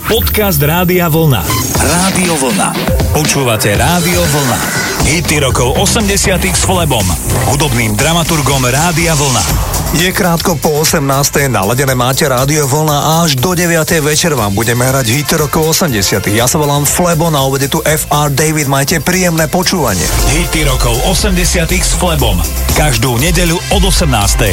Podcast Rádia Vlna. Rádio Vlna. Počúvate Rádio Vlna. Hity rokov 80 s Flebom, hudobným dramaturgom Rádia Vlna. Je krátko po 18. Naladené máte Rádio Vlna a až do 9. večer vám budeme hrať hity rokov 80. Ja sa volám Flebo, na obede tu FR David, majte príjemné počúvanie. Hity rokov 80 s Flebom. Každú nedeľu od 18.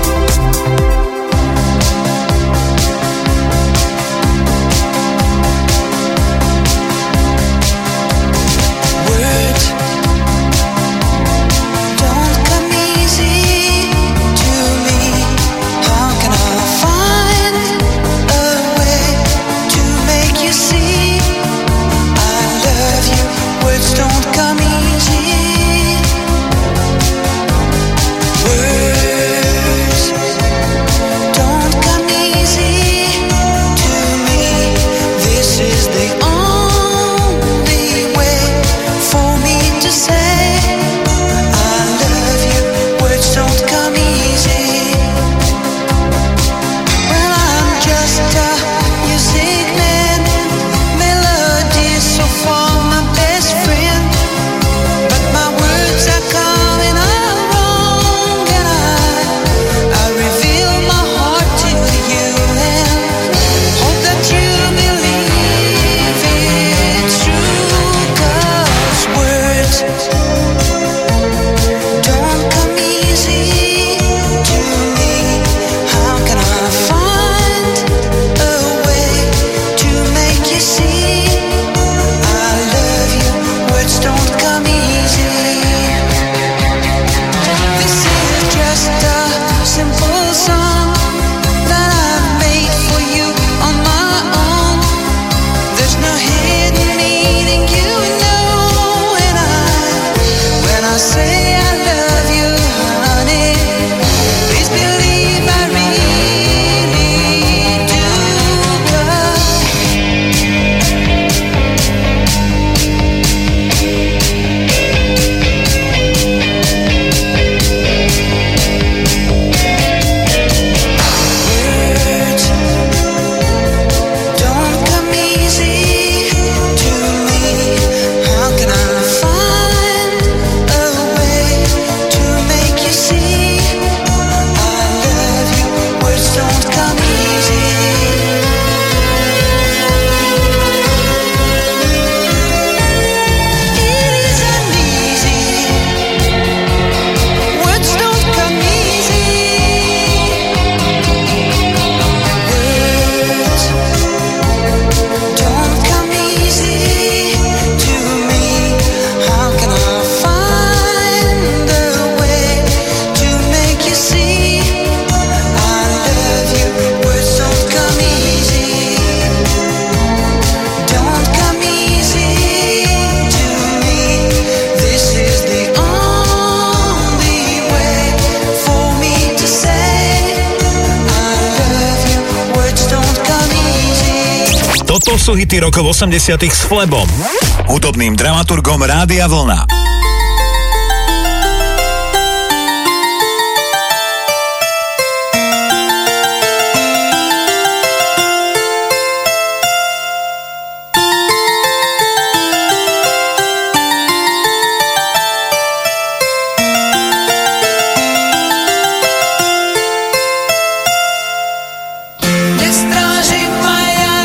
Sú hity rokov 80 s Flebom, hudobným dramaturgom Rádia Vlna.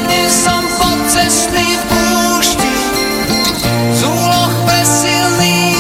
Z úloh presilných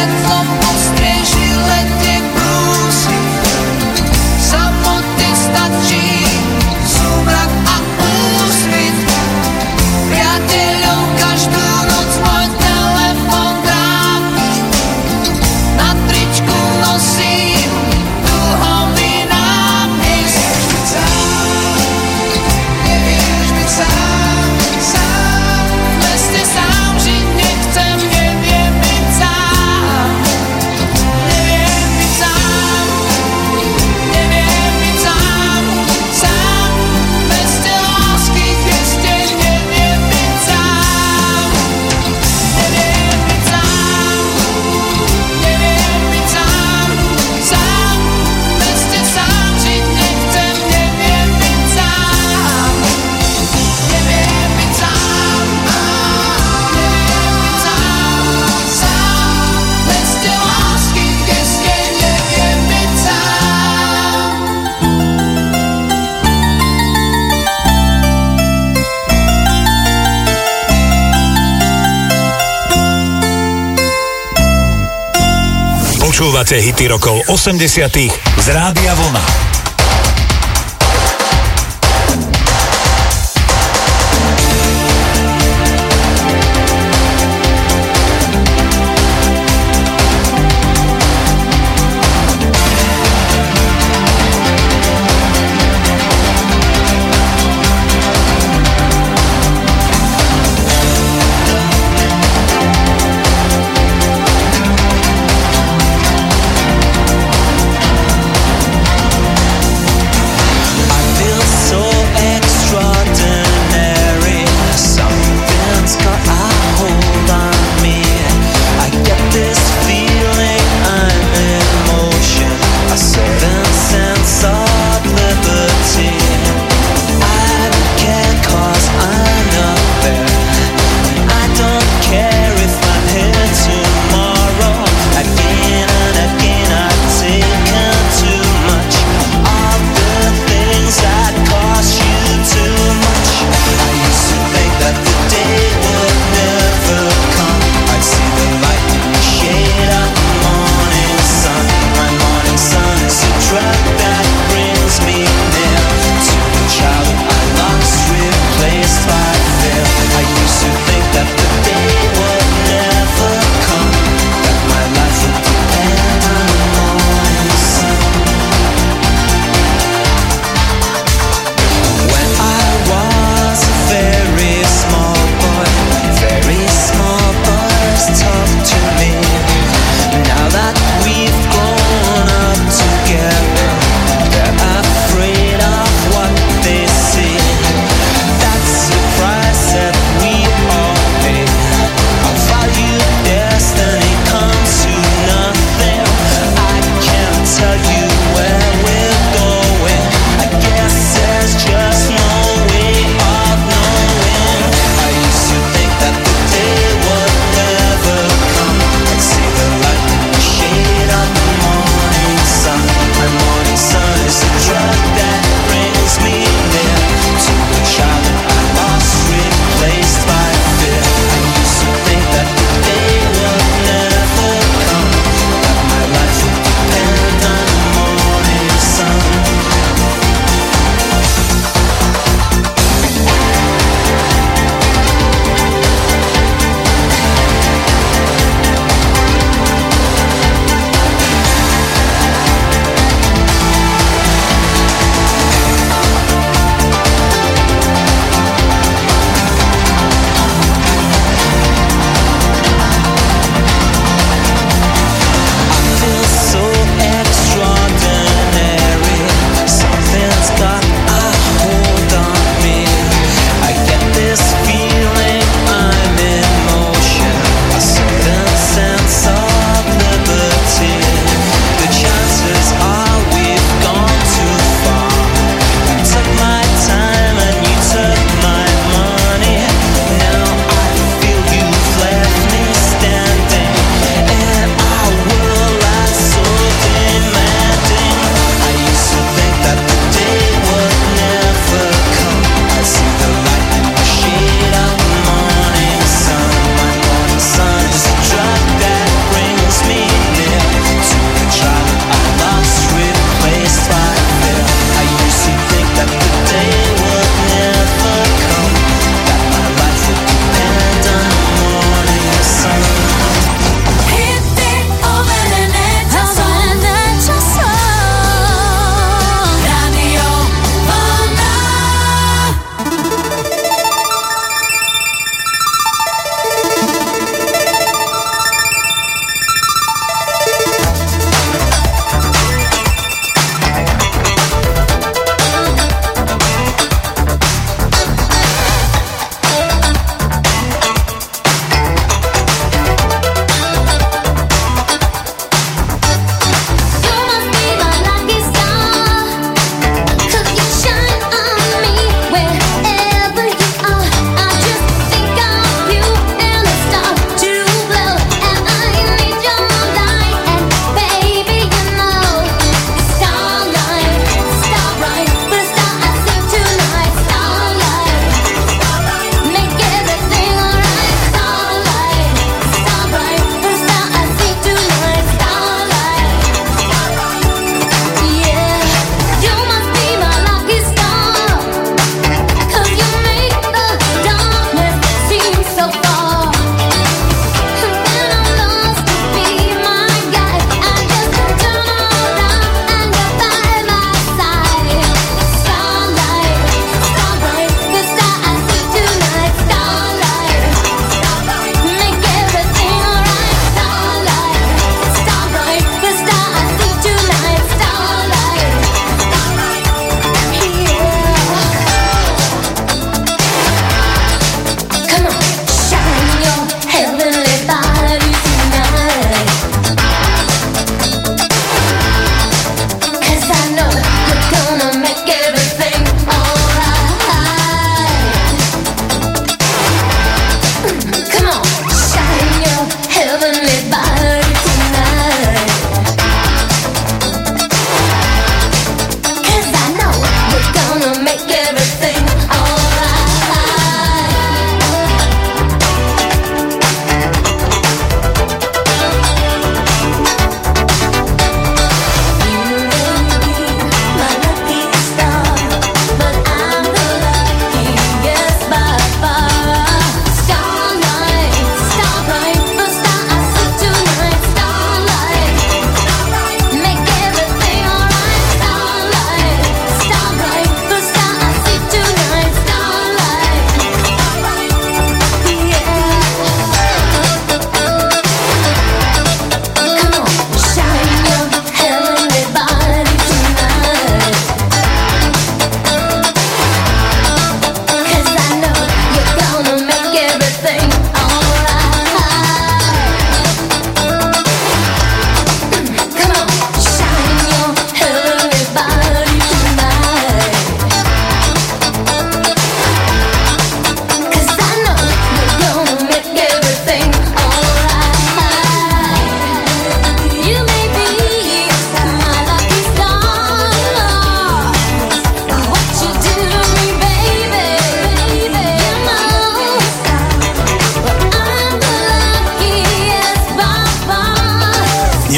svetlom ostrieži lete brúsi. Samoty stačí súmrak a úsvit. Priateľov každú noc môj telefon trápi. Na tričku nosím dlhový nápis. Nevieš byť sám, sám. V meste sám žiť nechcem, neviem byť sám. Neviem byť sám, neviem byť sám, sám. V meste lásky, kde ste, neviem byť sám. Neviem byť sám, neviem byť sám, sám. V meste sám žiť nechcem, neviem byť sám. Neviem byť sám, neviem byť sám, sám. V meste lásky, kde ste, neviem byť sám. Počúvate hity rokov 80 z Rádia Vlna. Neviem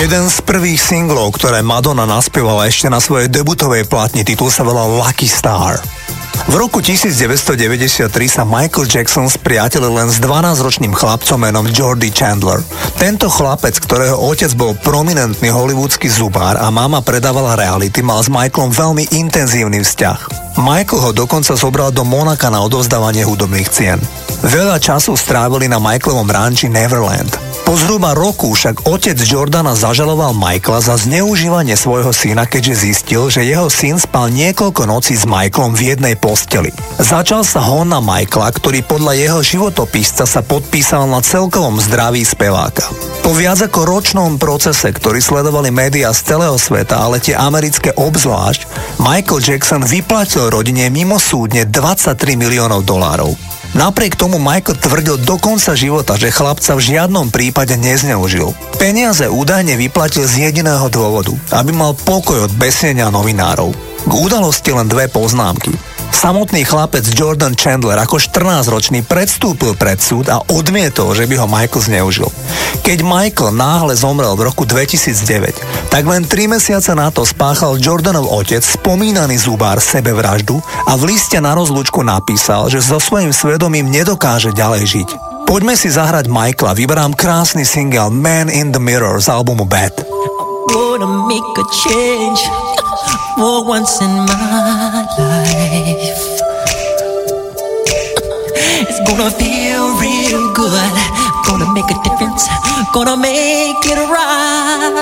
Jeden z prvých singlov, ktoré Madonna naspievala ešte na svojej debutovej platni, titul sa volal Lucky Star. V roku 1993 sa Michael Jackson spriatelil len s 12-ročným chlapcom menom Jordy Chandler. Tento chlapec, ktorého otec bol prominentný hollywoodský zubár a mama predávala reality, mal s Michaelom veľmi intenzívny vzťah. Michael ho dokonca zobral do Monaka na odovzdávanie hudobných cien. Veľa času strávili na Michaelovom ranči Neverland. Po zhruba roku však otec Jordana zažaloval Michaela za zneužívanie svojho syna, keďže zistil, že jeho syn spal niekoľko nocí s Michaelom v jednej posteli. Začal sa hon na Michaela, ktorý podľa jeho životopisca sa podpísal na celkovom zdraví speváka. Po viac ako ročnom procese, ktorý sledovali médiá z celého sveta, ale tie americké obzvlášť, Michael Jackson vyplatil rodine mimosúdne $23 miliónov. Napriek tomu Michael tvrdil do konca života, že chlapca v žiadnom prípade nezneužil. Peniaze údajne vyplatil z jediného dôvodu, aby mal pokoj od besnenia novinárov. K udalosti len dve poznámky. Samotný chlapec Jordan Chandler ako 14-ročný predstúpil pred súd a odmietol, že by ho Michael zneužil. Keď Michael náhle zomrel v roku 2009, tak len 3 mesiace na to spáchal Jordanov otec, spomínaný zubár, sebevraždu a v liste na rozlúčku napísal, že so svojím svedomím nedokáže ďalej žiť. Poďme si zahrať Michaela, vyberám krásny single Man in the Mirror z albumu Bad. Gonna make a change for once in my life. It's gonna feel real good. Gonna make a difference. Gonna make it right.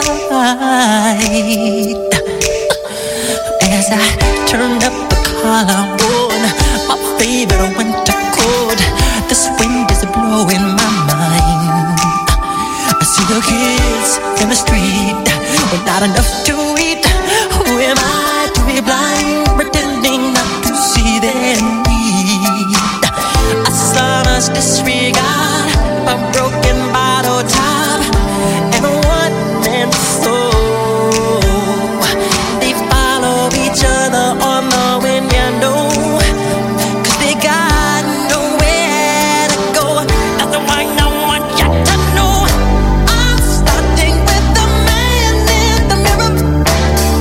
As I turn up the collar on my favorite winter coat, this wind is blowing my mind. I see the kids in the street with not enough to eat. Who am I to be blind, pretending not to see their need? A sonorous disregard, a broken bottle top, and a one-man soul. They follow each other on the wind, you know, 'cause they got nowhere to go. That's why I want you to know I'm starting with the man in the mirror.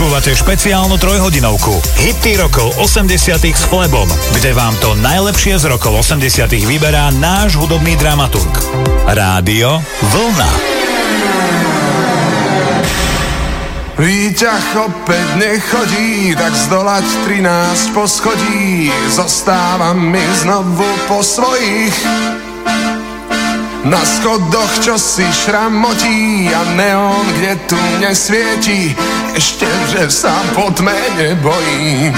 Počúvate špeciálnu trojhodinovku Hity rokov 80 s Flebom, kde vám to najlepšie z rokov 80 vyberá náš hudobný dramaturg. Rádio Vlna. Výťah opäť nechodí, tak zdolať 13 poschodí zostávam mi znovu po svojich. Na schodoch čo si šramotí a neon, kde tu nesvieti, ešte, že sa po tme nebojím.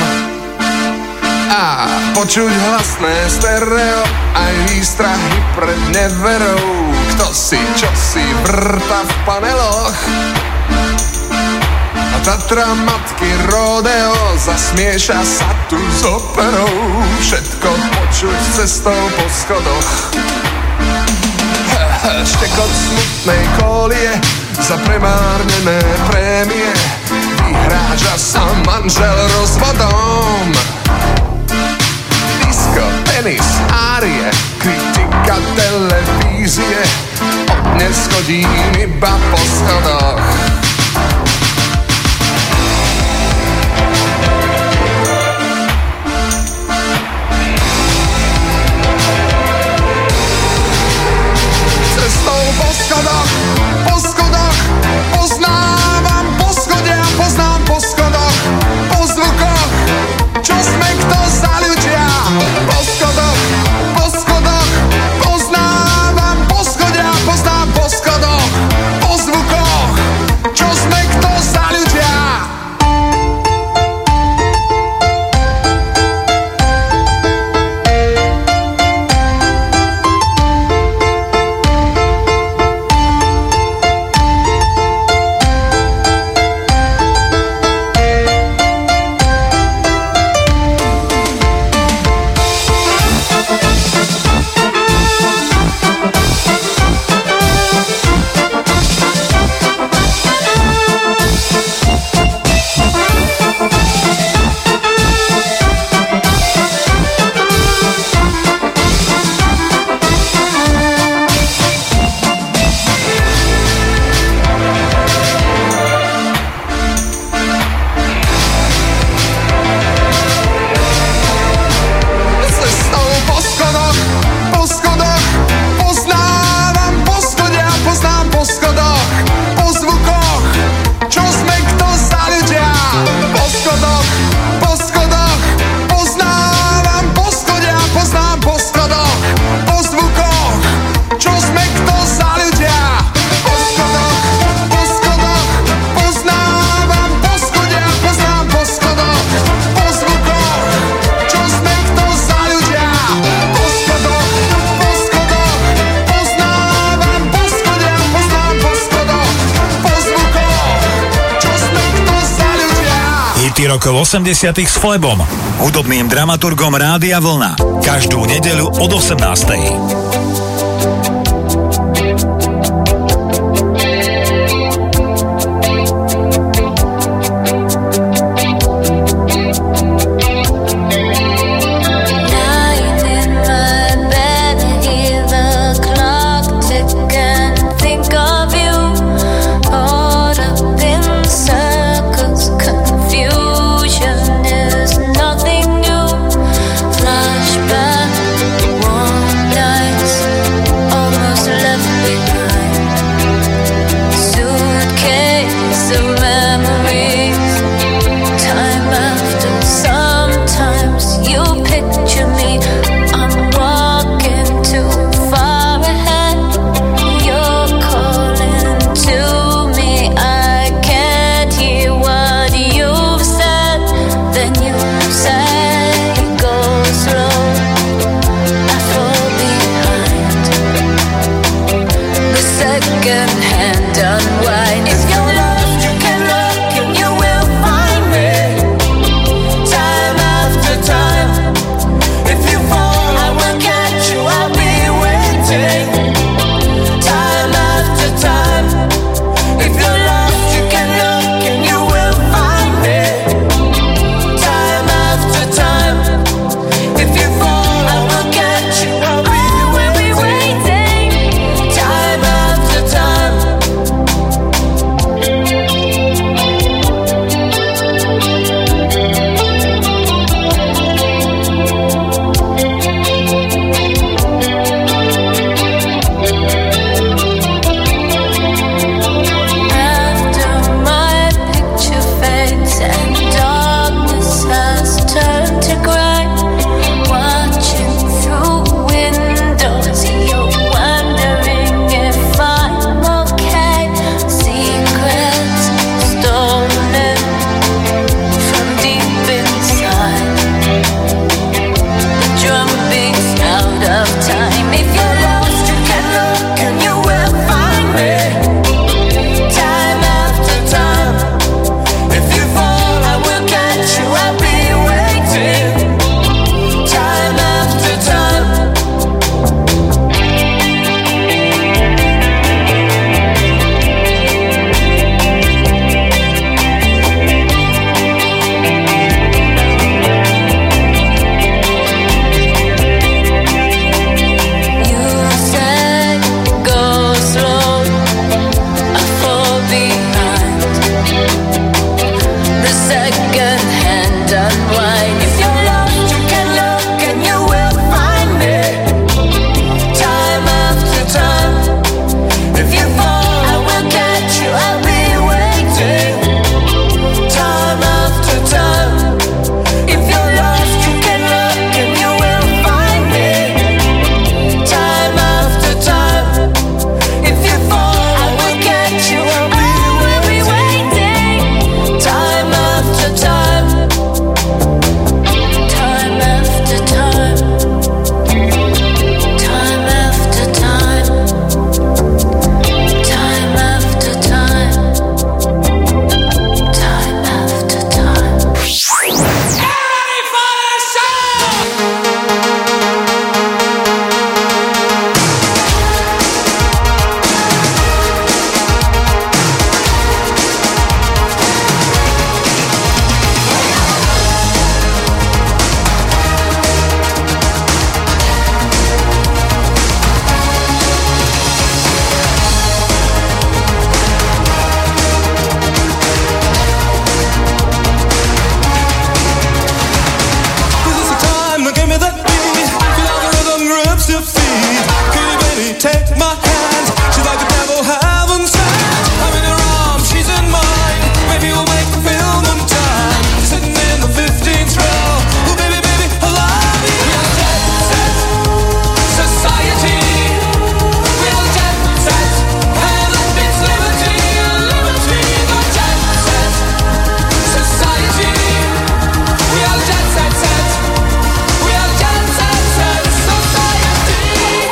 A počuť hlasné stereo, aj výstrahy pred neverou, kto si čo si vrta v paneloch. A Tatra matky rodeo zasmieša sa tu s operou, všetko počuť cestou po schodoch. Štekot smutnej kolie za premárnené prémie, vyhráža sa manžel rozvodom. Disko, tenis, árie, kritika televízie, od dnes chodím iba po schodoch. Po schodoch, poznávam poschodia, poznám po schodoch, po zvukoch, čo sme kto za ľudia. Po schodoch, poznávam poschodia, poznám po schodoch, po zvukoch, čo sme kto za ľudia. Rokov 80 s Flebom, hudobným dramaturgom Rádia Vlna. Každú nedeľu od 18. Time I can't. She's like the devil heaven sent. I'm in her arms, she's in mine. Maybe we'll make the film on time. Sitting in the 15th row. Oh baby, baby, I love you. We are jet set society. We are jet set, and that means liberty, liberty. The jet set society. We are jet set set. We are jet set set society.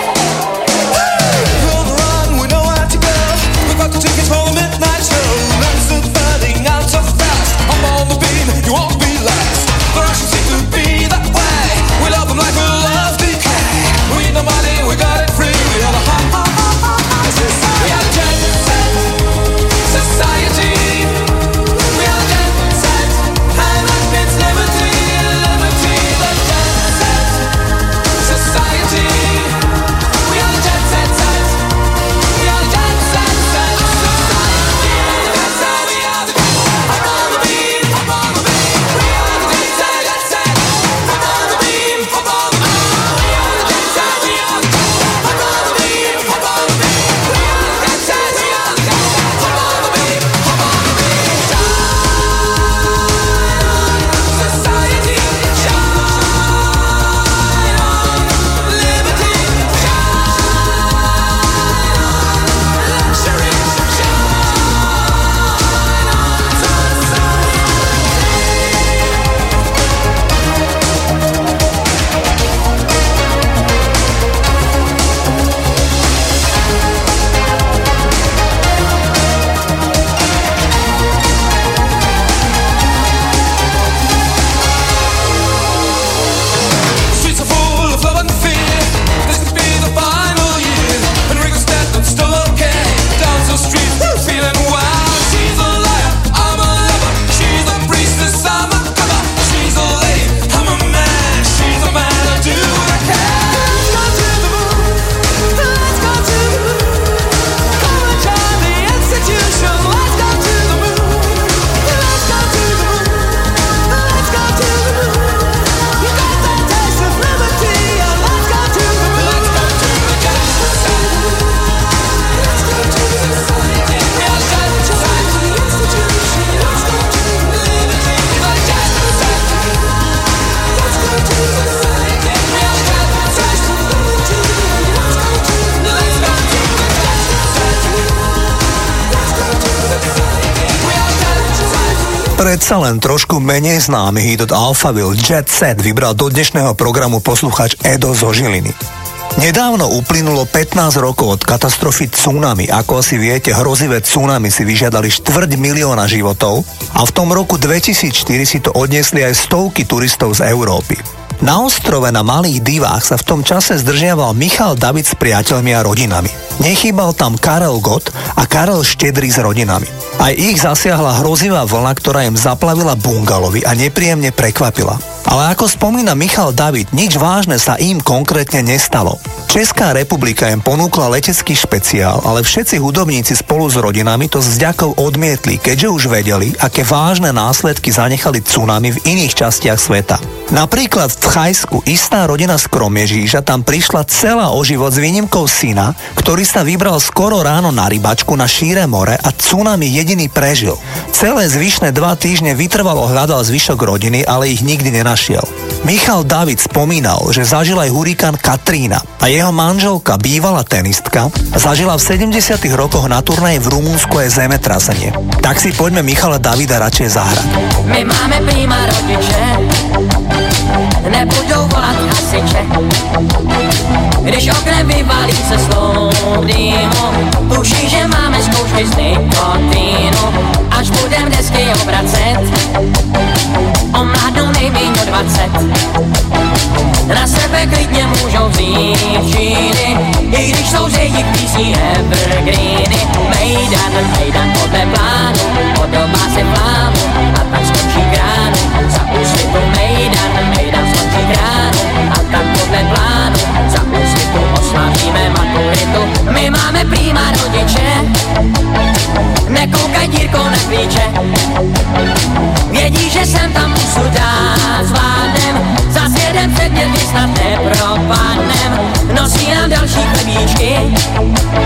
We're on the run, we know where to go. We got the tickets for the midnight show. Let's the burning out so fast. I'm on the beam, you won't be last. The Russians seem to be that way. We love them like we love decay. We need no money, we got it free. We are the high society. We are jet set society. We are jet set, and that means liberty, liberty. The jet set society. We are jet set set. We are jet set set society. That's how we are the I'm on the beam, I'm on the beam. We are the jet set. I'm on the beam, I'm on the beam. We are the jet set. We are the I'm on the beam, I'm on the beam. We are the jet set. We are the I'm on the beam, I'm on the beam. Society, shine on. Liberty, shine on. Luxury, shine on. Streets are full of love and fear. This could be the final year. And Ringo's dead, I'm still okay. Down the street, feeling wild. She's a liar, I'm a lover. She's a priestess, I'm a cover. She's a lady, I'm a man. She's a man, I do what I can. Let's go to the moon. Let's go to the moon. Come and join the institution. Let's go to the moon. Let's go to the moon. Let's go to the moon. You got that taste of liberty, and let's go to the moon. Let's go to the jet set. Let's go to the society. We are jet set. The institution. Let's go to liberty. The jet set. Let's go to the society. We are jet set. Liberty. Let's go to the jet set. Let's go to the society. We are jet set. Predsa len trošku menej známy hit od Alphaville Jet Set vybral do dnešného programu poslucháč Edo zo Žiliny. Nedávno uplynulo 15 rokov od katastrofy tsunami. Ako asi viete, hrozivé tsunami si vyžiadali 250 000 životov a v tom roku 2004 si to odniesli aj stovky turistov z Európy. Na ostrove na Malých Divách sa v tom čase zdržiaval Michal David s priateľmi a rodinami. Nechýbal tam Karel Gott a Karel Štedrý s rodinami. Aj ich zasiahla hrozivá vlna, ktorá im zaplavila bungalovy a nepríjemne prekvapila. Ale ako spomína Michal David, nič vážne sa im konkrétne nestalo. Česká republika im ponúkla letecký špeciál, ale všetci hudobníci spolu s rodinami to s vďakou odmietli, keďže už vedeli, aké vážne následky zanechali tsunami v iných častiach sveta. Napríklad v Thajsku istá rodina z Kromiežíža tam prišla celá o život s výnimkou syna, ktorý sa vybral skoro ráno na rybačku na šíre more a tsunami jediný prežil. Celé zvyšné 2 týždne vytrvalo hľadal zvyšok rodiny, ale ich nikdy nenašiel. Michal David spomínal, že zažil aj hurikán Katrína a jeho manželka, bývalá tenistka, zažila v 70. rokoch na turnaji v Rumunsku aj zemetrasenie. Tak si poďme Michala Davida radšej zahrať. My máme prima rodiče, nebudou volat hasiče. Když oknem vyvalí se slov dýmu, tuší, že máme zkoušky z nikotínu. Až budem desky obracet, omládnou nejméně o 20. Na sebe klidně můžou vzít džíny, i když jsou z jejich písní evergreeny. Mejdan podle plánu, podobá se plánu a tak skončí kránu. Za úsvitu mejdan skončí kránu a tak podle plánu. Za úsvitu oslavíme maturitu. My máme prima rodiče, nekoukaj dírkou na klíče. Vědí, že jsem tam pusu dát zvládnem, zas jeden předmět my snad nepropadnem. Nosí nám další chlebíčky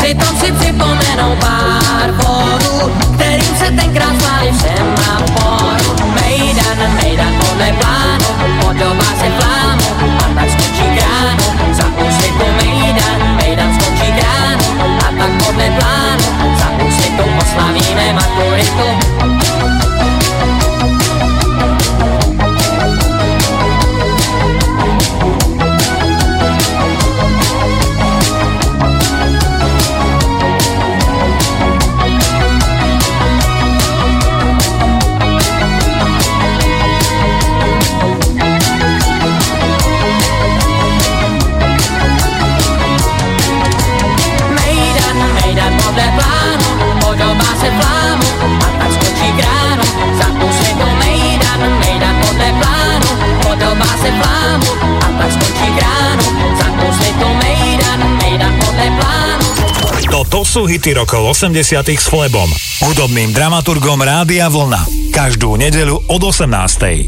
Přitom si připomenou pár bodů, kterým se tenkrát zvali všem na poru. Mejdan podle plánu, podobá se plánu, a tak skončí kránu. Za úsvitu mejdan skončí kránu, a tak podle plánu, za úsvitu oslavíme maturitu. To sú hity rokov 80 s Flebom, hudobným dramaturgom Rádia Vlna. Každú nedeľu od 18.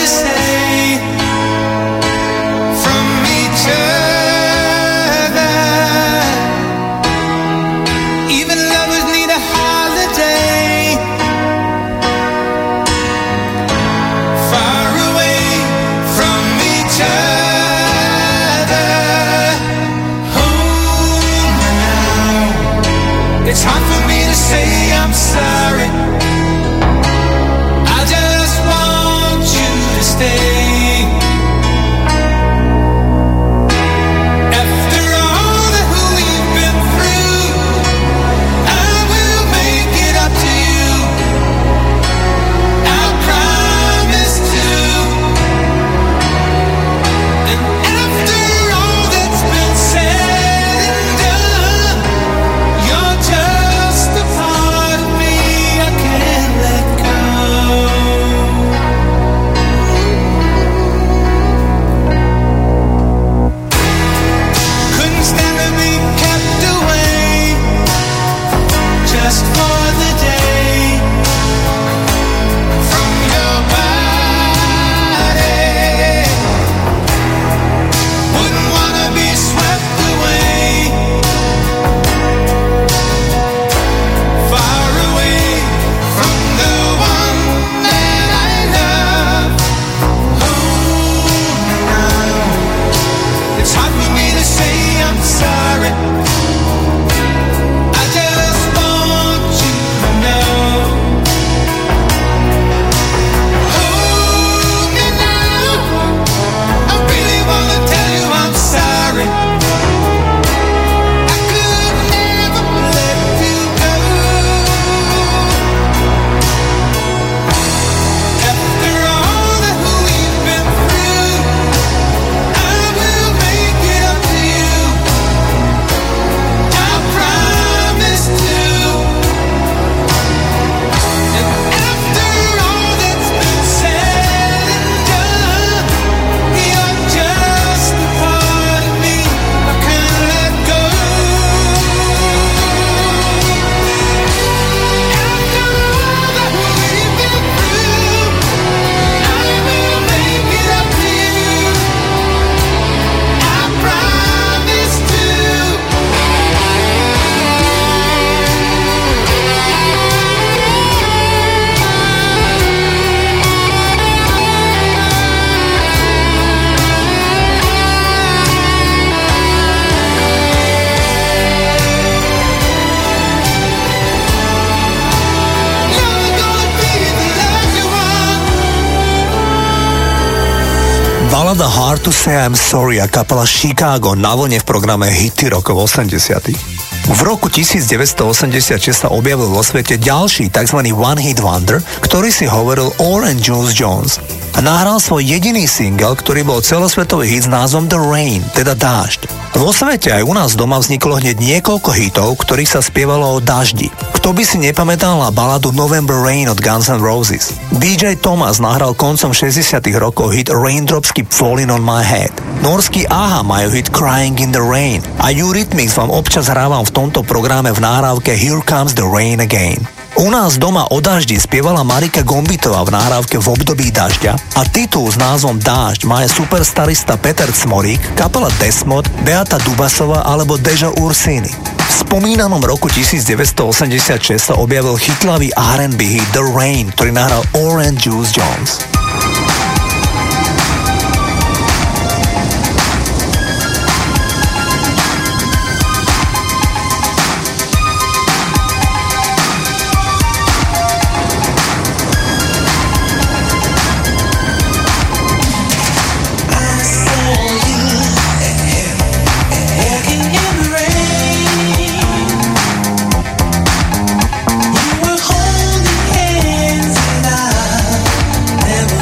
to say from each other. Even lovers need a holiday. Far away from each other. Home now. It's hard for me to say I'm sorry. I just want you to stay. After all that we've been through, I will make it up to you. I promise to. And after all that's been said and done, you're just a part of me I can't let go. Couldn't stand to be kept away just for the day from your body. Wouldn't wanna be swept away, far away from the one that I love. Oh, now it's hard for me to say I'm sorry. I just want you to know. Hold me now. I really wanna tell you I'm sorry. I could never let you go. After all that we've been through, I will make it up to you. I promise to. And after all that's been said and done, you're just a part of me I can't let go. After all that we've been through, I will make it up to you. I promise to. You're gonna be the lucky one. Balada Hard to Say I'm Sorry a kapela Chicago na vlne v programe Hity rokov 80. V roku 1986 sa objavil vo svete ďalší tzv. One Hit Wonder, ktorý si hovoril Orange Juice Jones. A nahral svoj jediný single, ktorý bol celosvetový hit s názvom The Rain, teda dážď. Vo svete aj u nás doma vzniklo hneď niekoľko hitov, ktorých sa spievalo o daždi. Kto by si nepamätal na baladu November Rain od Guns N' Roses? DJ Thomas nahral koncom 60. rokov hit Raindrops Keep Falling on My Head. Norský Aha majú hit Crying in the Rain a Eurythmics vám občas hrávam v tomto programe v nahrávke Here Comes the Rain Again. U nás doma o daždi spievala Marika Gombitová v nahrávke V období dažďa a titul s názvom Dážď má aj superstarista Peter Cmorík, kapela Desmod, Beata Dubasová alebo Dežo Ursini. V spomínanom roku 1986 sa objavil chytlavý R&B hit The Rain, ktorý nahral Orange Juice Jones. You were holding hands and I never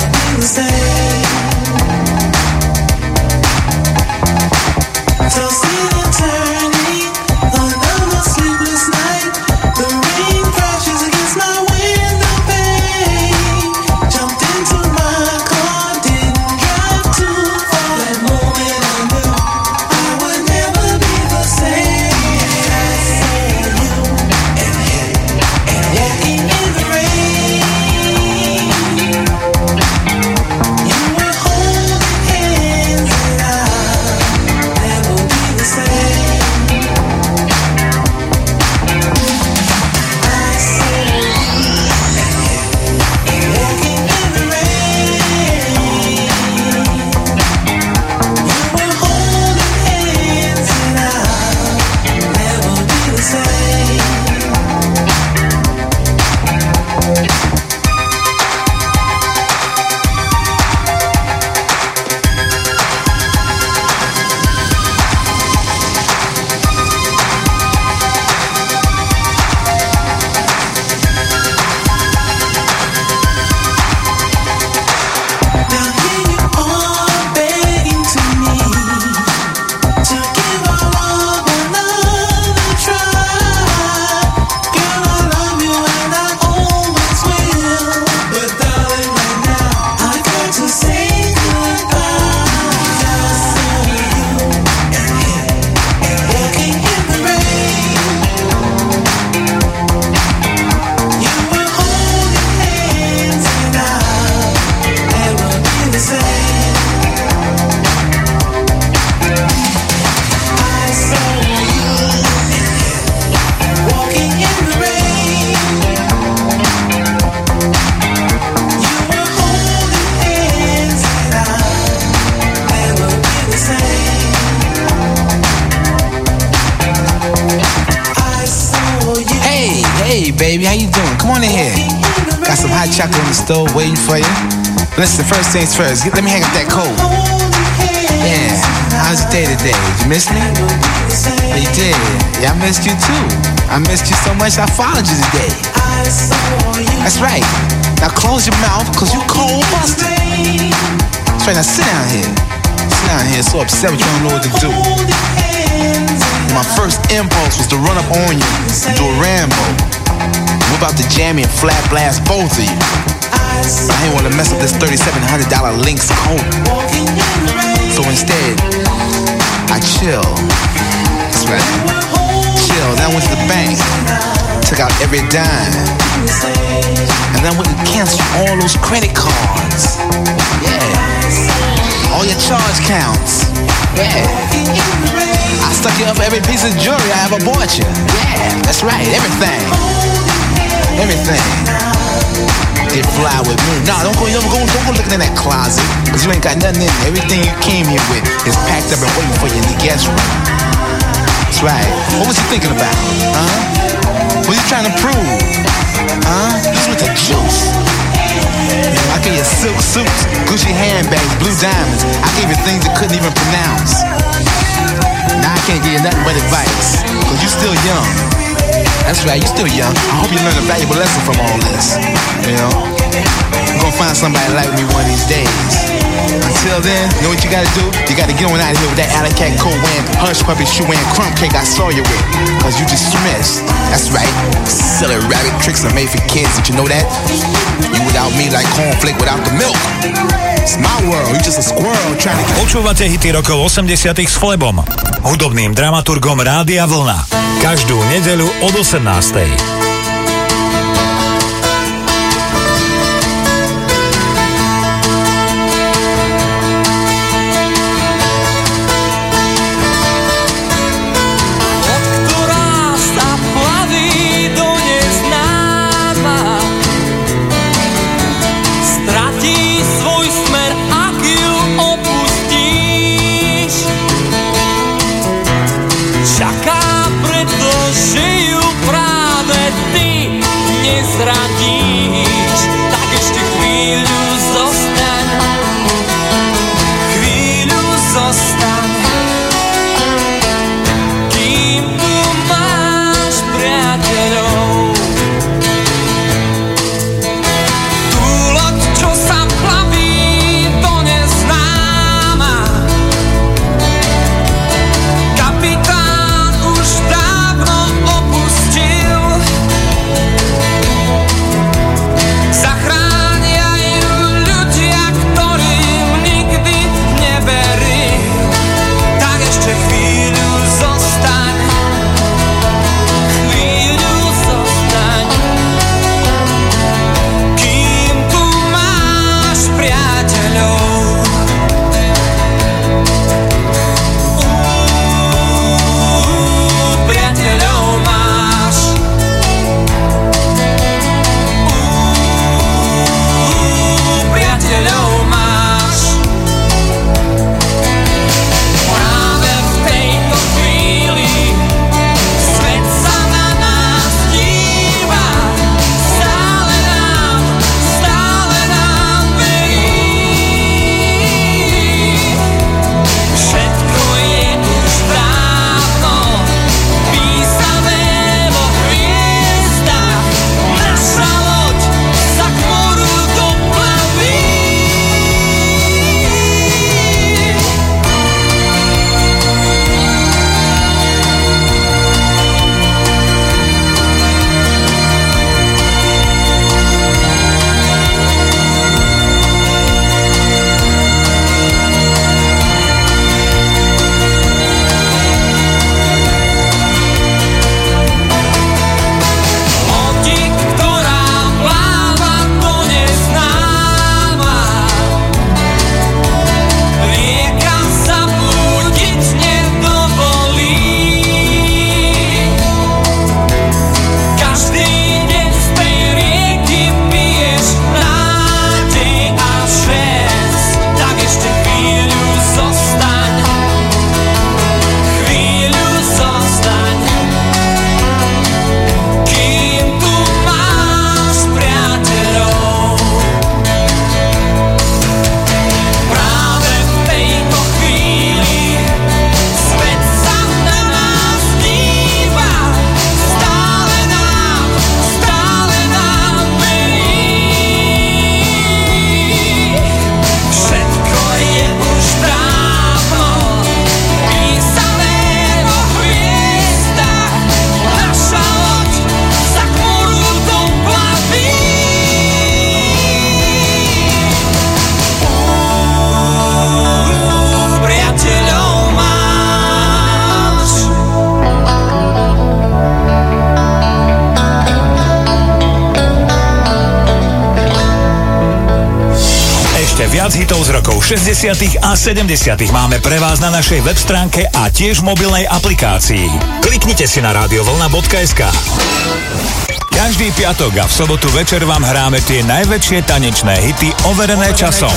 baby. How you doing? Come on in here. Got some hot chocolate on the stove waiting for you. Listen, first things first. Let me hang up that coat. Yeah. How's your day today? Did you miss me? Oh, you did. Yeah, I missed you too. I missed you so much I followed you today. That's right. Now close your mouth, cause you cold busted. That's right, now sit down here. Sit down here, so upset with you don't know what to do. My first impulse was to run up on you and do a Rambo. Whip out the jammy and flat blast both of you. But I ain't wanna mess up this $3,700 Lynx coat. So instead, I chill. That's right. Chill. Then I went to the bank, took out every dime, and then went and canceled all those credit cards. Yeah. All your charge counts. Yeah. I stuck you up for every piece of jewelry I ever bought you. Yeah, that's right, everything. Everything. Get fly with me. Nah, don't go looking in that closet, cause you ain't got nothing in there. Everything you came here with is packed up and waiting for you in the guest room. That's right. What was you thinking about? Huh? What you trying to prove? Huh? This was the juice. I gave you silk suits, Gucci handbags, blue diamonds. I gave you things you couldn't even pronounce. Now I can't give you nothing but advice, cause you still young. That's right, you still young. I hope you learn a valuable lesson from all this. You know? You're gonna find somebody like me one of these days. Until then, you know what you gotta do? You gotta get on out of here with that alley cat coat wearing, hush puppy shoe wearing, crumb cake I saw you with. Cause you dismissed. That's right. Silly rabbit tricks are made for kids. Did you know that? You without me like cornflake without the milk. It's my world. You just a squirrel trying to... Počúvate hity rokov 80 s Flebom, hudobným dramaturgom Rádia Vlna. Každú nedeľu od 18. Čaká, pretože ju práve Ešte viac hitov z rokov 60. a 70. máme pre vás na našej web stránke a tiež v mobilnej aplikácii. Kliknite si na radiovlna.sk. Každý piatok a v sobotu večer vám hráme tie najväčšie tanečné hity overené časom.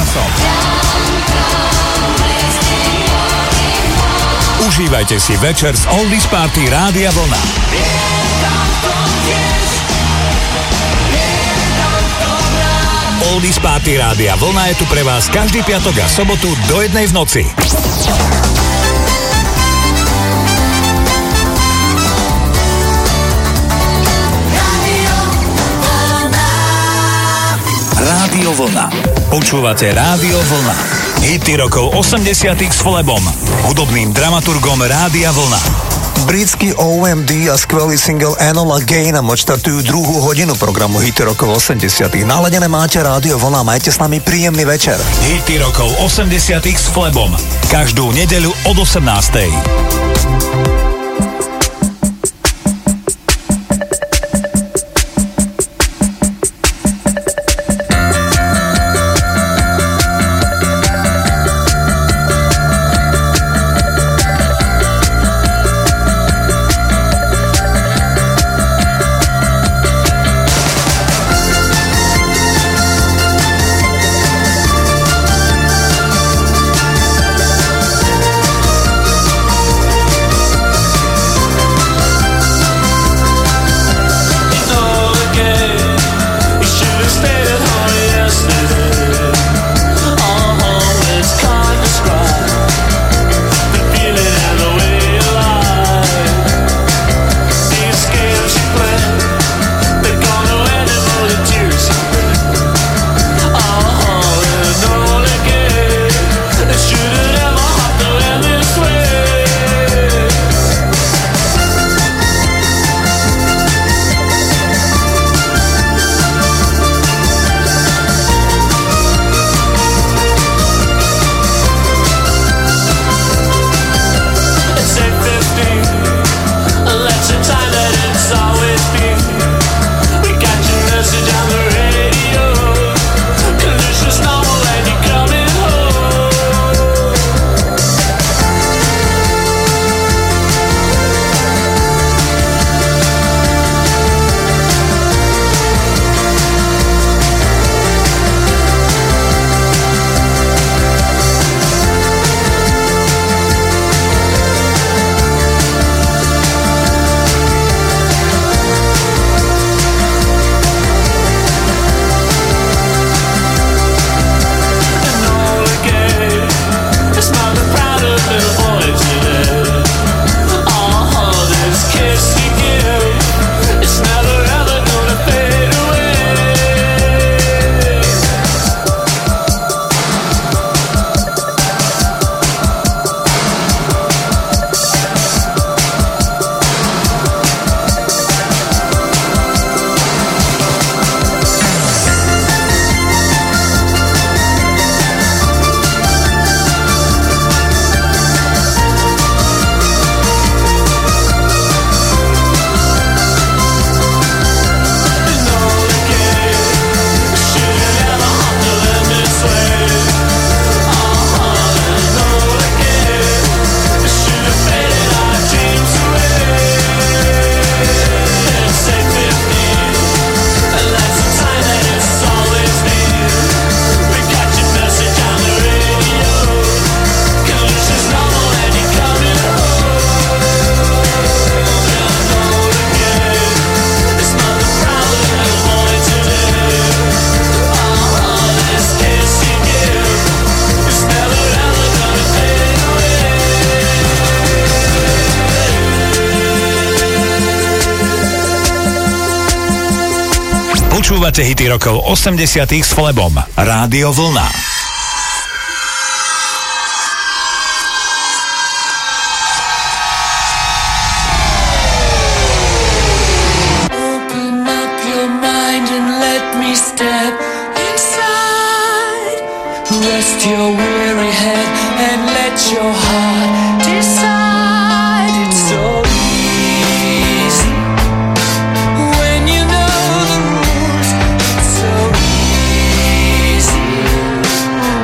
Užívajte si večer z Oldies Party Rádia Vlna. Oldies Party Rádia Vlna je tu pre vás každý piatok a sobotu do 1 v noci. Rádio Vlna. Počúvate Rádio Vlna. Hity rokov 80 s Flebom, hudobným dramaturgom Rádia Vlna. Britský OMD a skvelý single Enola Gay nám odštartujú druhú hodinu programu Hity rokov 80. Naladené máte Rádio Vlna, majte s nami príjemný večer. Hity rokov 80 s Flebom. Každú nedeľu od 18. Počúvate hity rokov 80 s Flebom. Rádio Vlna. Open up your mind and let me step inside. Rest your weary head and let your heart decide. It's so easy when you know the rules. It's so easy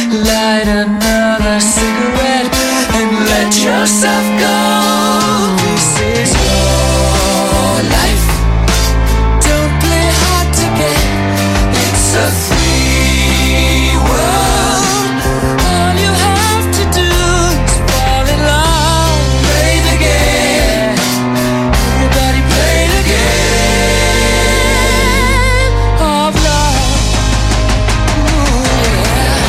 Light another cigarette and let yourself go. This is your life. Don't play hard to get. It's a free world. All you have to do is fall in love. Play the game. Everybody play the game of love. Ooh, yeah.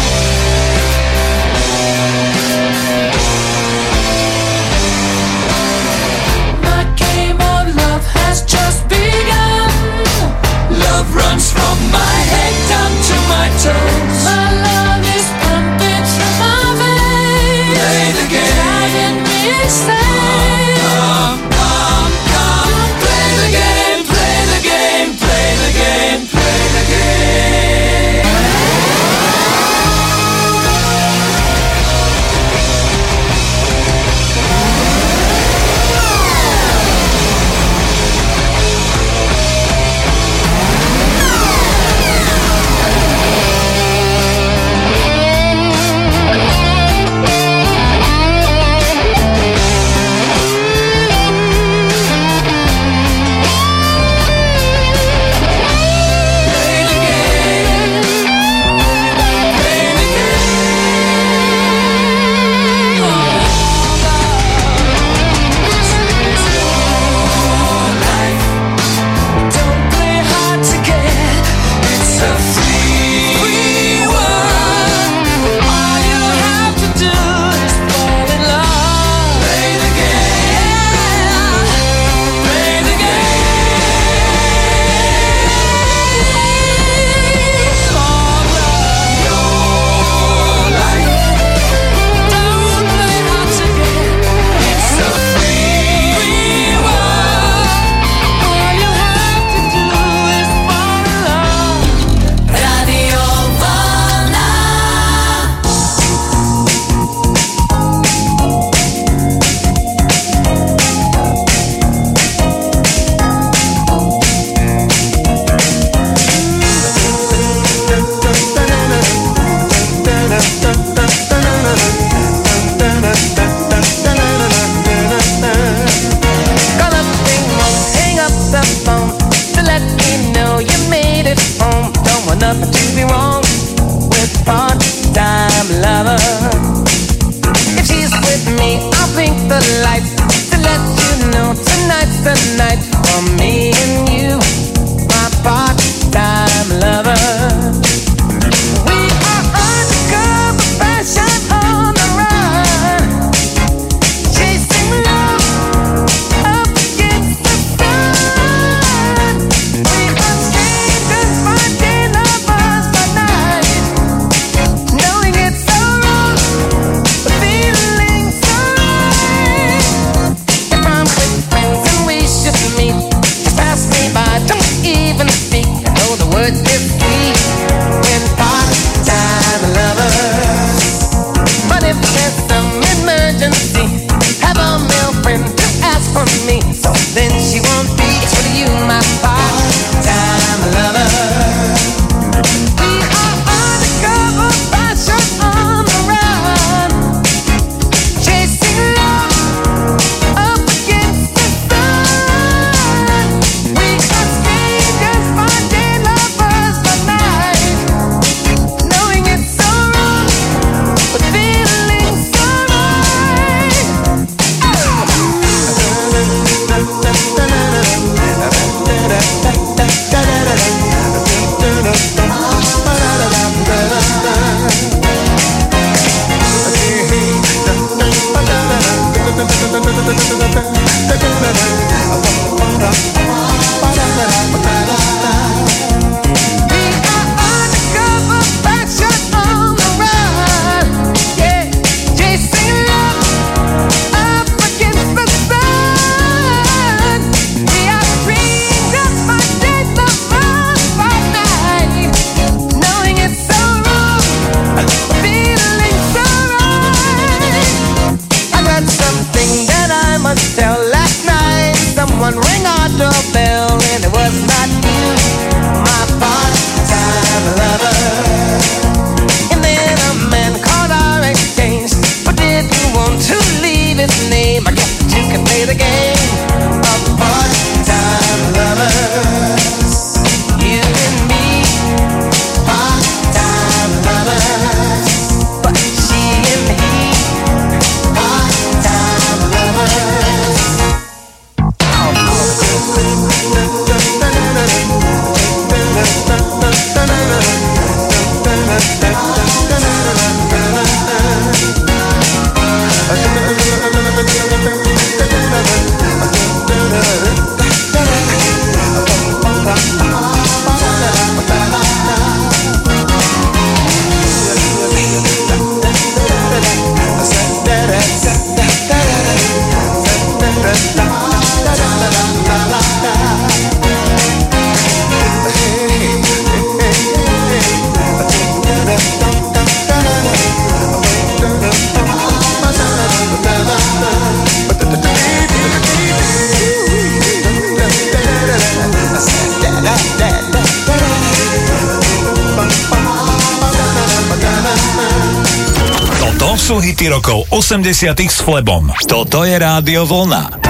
Sú hity rokov 80 s Flebom. Toto je Rádio Vlna.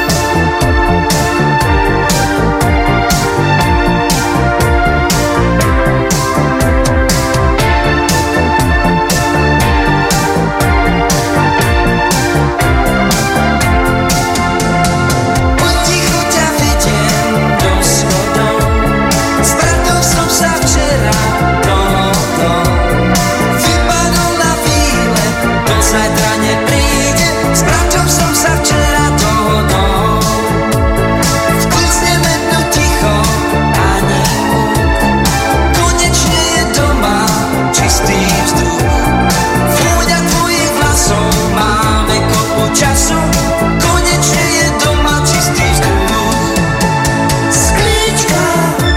Zajtra nepríde, s bratom som sa včera dohodol. Vklzneme tu ticho, ani huk. Konečne je doma čistý vzduch. Vôňa tvojich vlasov, máme kopu času. Konečne je doma čistý vzduch. Sklíčka,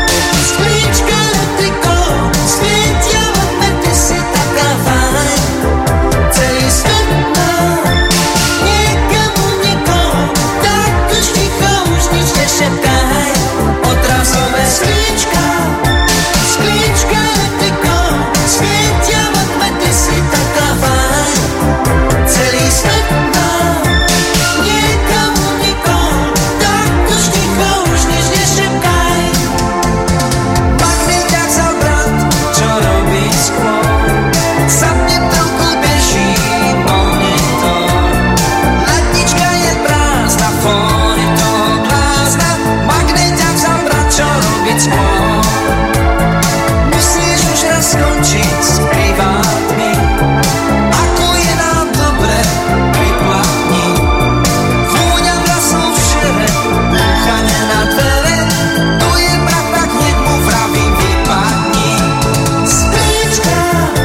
letyko, svietia vodme, ty si taká fajn. Celý svet má niekomu nikoho, tak už ticho, už nič nešepkaj. Odrazové sklíčka, letyko, svietia vodme, ty si taká fajn. Celý svet má niekomu nikoho, tak už ticho, už nič nešepkaj. Pak mi ťa vzal brat, čo robí skôr. Zapne telku, beží monitor. Lednička je prázdna, fón je toho blázna. Magnet ťa vzal brat, čo robiť skôr. Musíš už raz skončiť s privátmi. Ako je nám dobre, priplatni. Vôňa vlasov v šere, búchanie na dvere. To je brat, tak hneď mu vravím, vypadni. Sklíčka,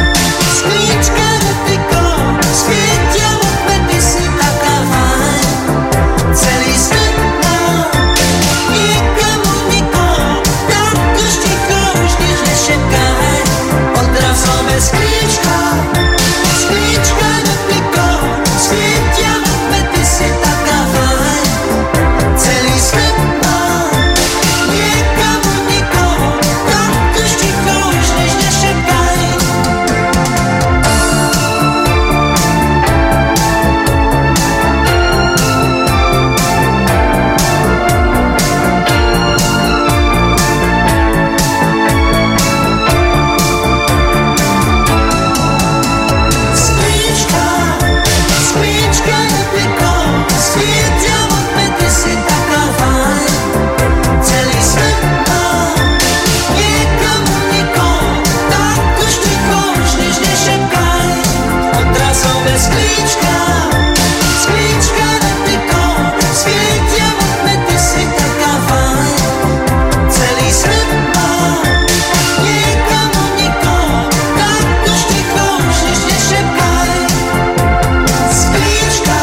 letyko, svietia vodme, ty si taká fajn. Celý svet má niekomu nikoho, tak už ticho, už nič nešepkaj. Odrazové sklíčka, letyko, svietia vodme, ty si taká fajn. Celý svet má niekomu nikoho, tak už ticho, už nič nešepkaj. Sklíčka, letyko, svietia vodme, ty si taká fajn. Celý svet má niekomu nikoho, tak už ticho, už nič nešepkaj. Odrazové sklíčka, letyko, svietia vodme, ty si taká fajn. Celý svet má niekomu nikoho, tak už ticho, už nič nešepkaj. Sklíčka,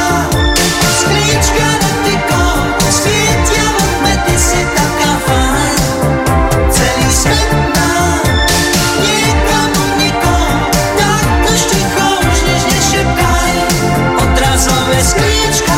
letyko, svietia vodme, ty si taká fajn. Celý svet má niekomu nikoho, tak už ticho, už nič nešepkaj. Odrazové sklíčka,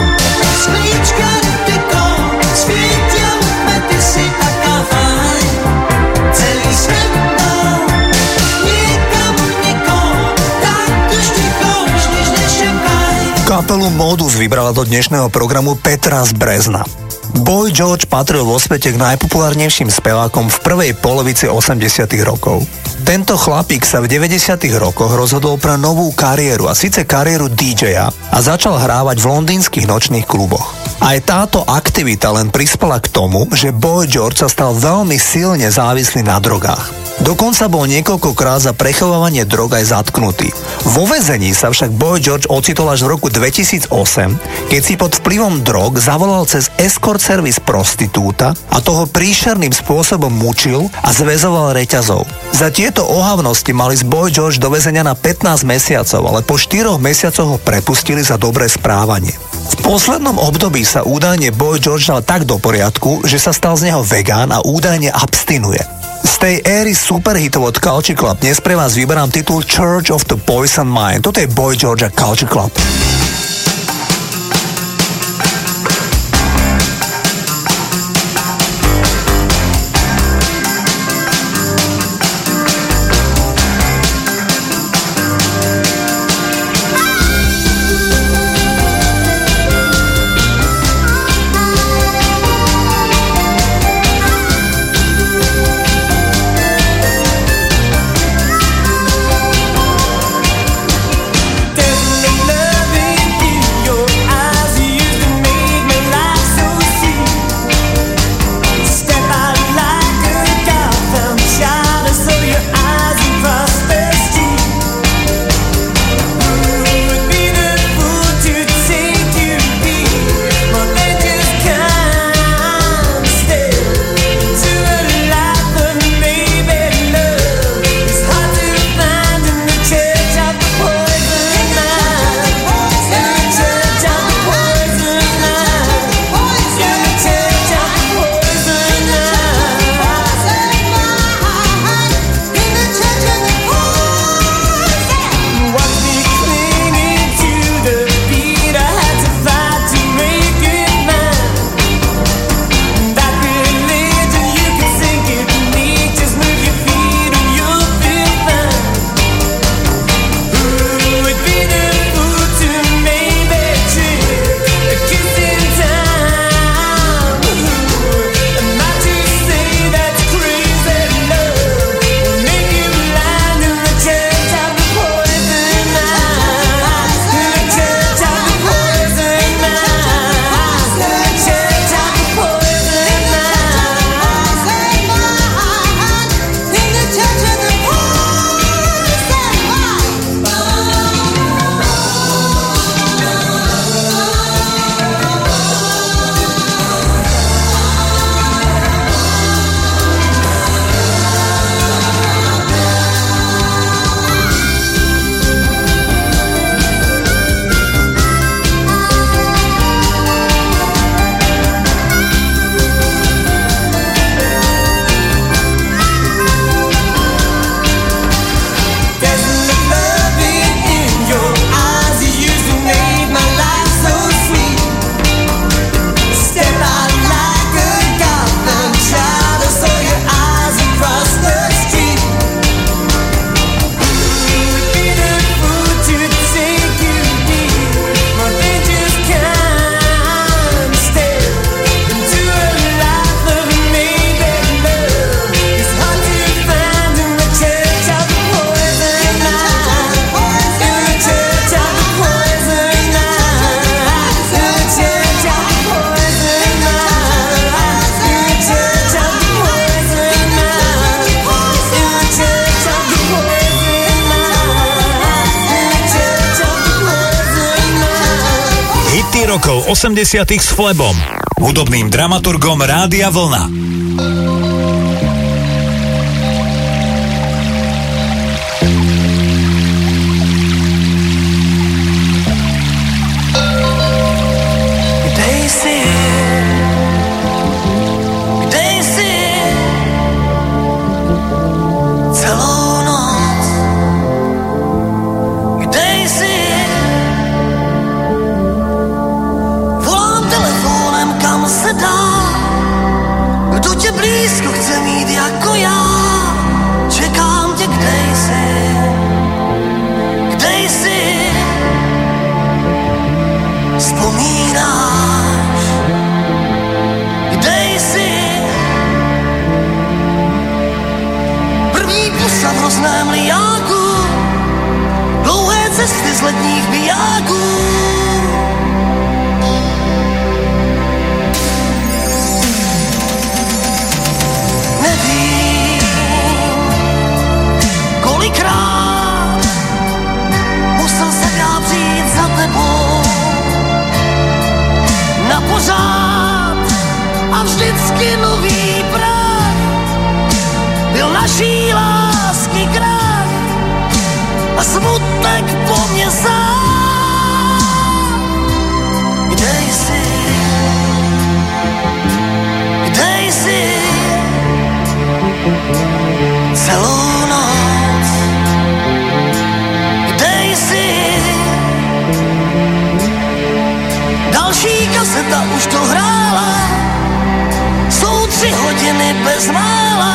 letyko, svietia vodme, ty si taká fajn. Celý svet má niekomu nikoho, tak už ticho, už nič nešepkaj. Kapelu Modus vybrala do dnešného programu Petra z Brezna. Boy George patril vo svete k najpopulárnejším spevákom v prvej polovici 80 rokov. Tento chlapík sa v 90 rokoch rozhodol pre novú kariéru, a síce kariéru DJ-a, a začal hrávať v londýnskych nočných kluboch. Aj táto aktivita len prispela k tomu, že Boy George sa stal veľmi silne závislý na drogách. Dokonca bol niekoľkokrát za prechovávanie drog aj zatknutý. Vo väzení sa však Boy George ocitol až v roku 2008, keď si pod vplyvom drog zavolal cez escort servis prostitúta a toho príšerným spôsobom mučil a zväzoval reťazov. Za tieto ohavnosti mali z Boy George do väzenia na 15 mesiacov, ale po 4 mesiacoch ho prepustili za dobré správanie. V poslednom období sa údajne Boy George dal tak do poriadku, že sa stal z neho vegán a údajne abstinuje. Z tej éry superhitov od Culture Club dnes pre vás vyberám titul Church of the Poison Mind. Toto je Boy George a Culture Club. Rokov 80 s Flebom, hudobným dramaturgom Rádia Vlna. Cesty z letních bijáků a smutek po mne sám. Kde jsi? Kde jsi? Celou noc. Kde jsi? Další kaseta už dohrála, jsou 3 hodiny bez mála.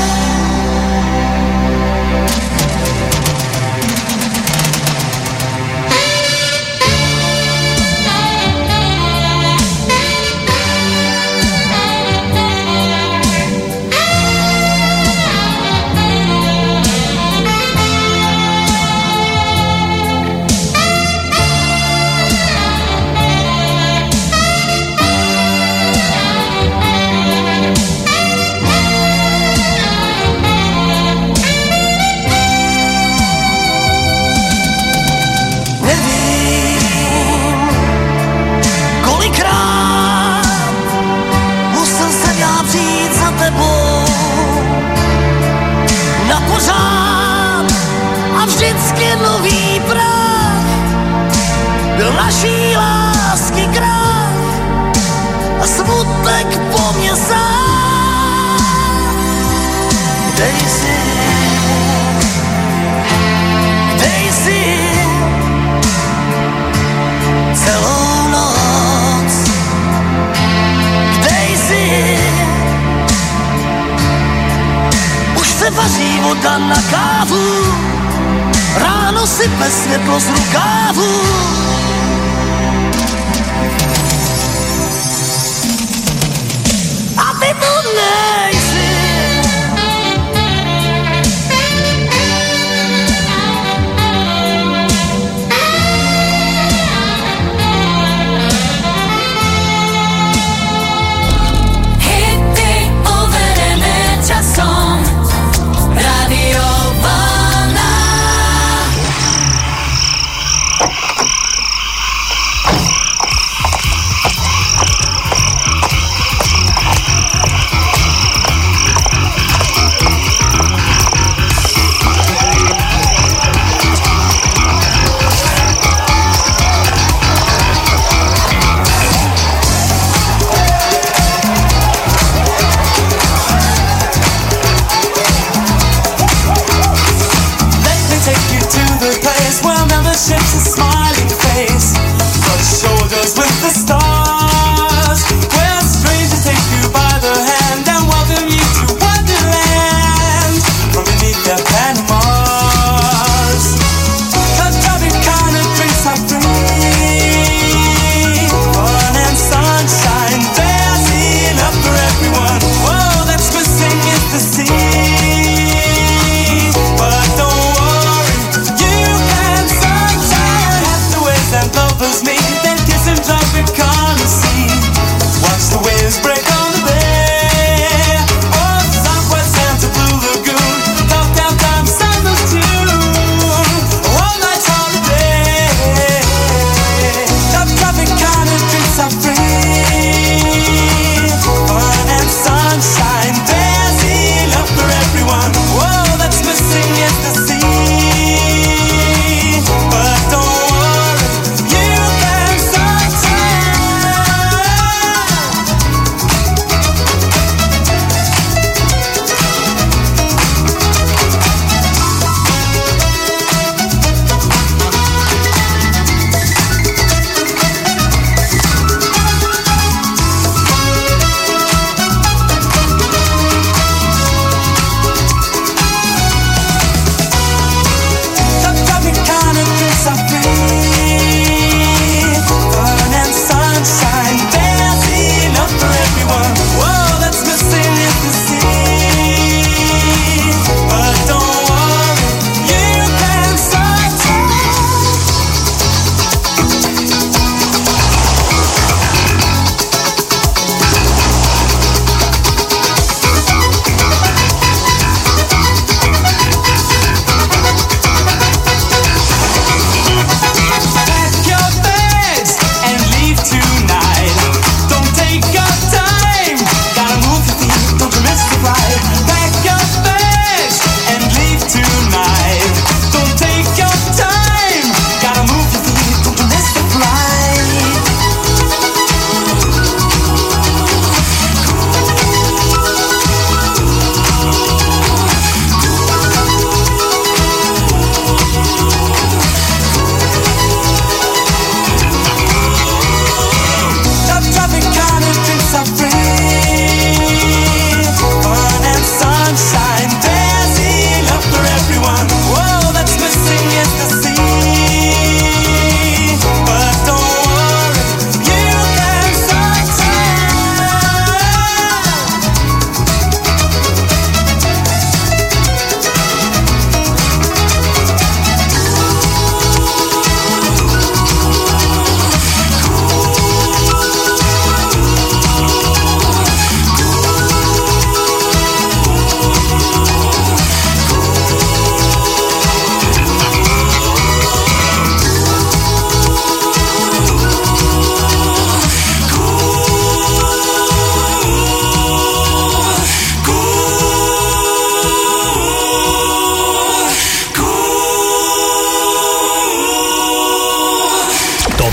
Nový prach byl naší lásky krach a smutek po mne sám. Kde jsi? Kde jsi? Celou noc. Kde jsi? Už se vaří voda na kávu, ráno sype světlo z rukávu. A ty tu nejsi. Hity overené časom. Radio Vlna. Let me take you to the place where membership's a smiling face, brush shoulders with the stars, where strangers take you by the hand and welcome you to Wonderland from beneath their Panamas. The kind of drinks are free, fun and sunshine, dancing up for everyone. Whoa, that's missing is the sea. But don't worry, you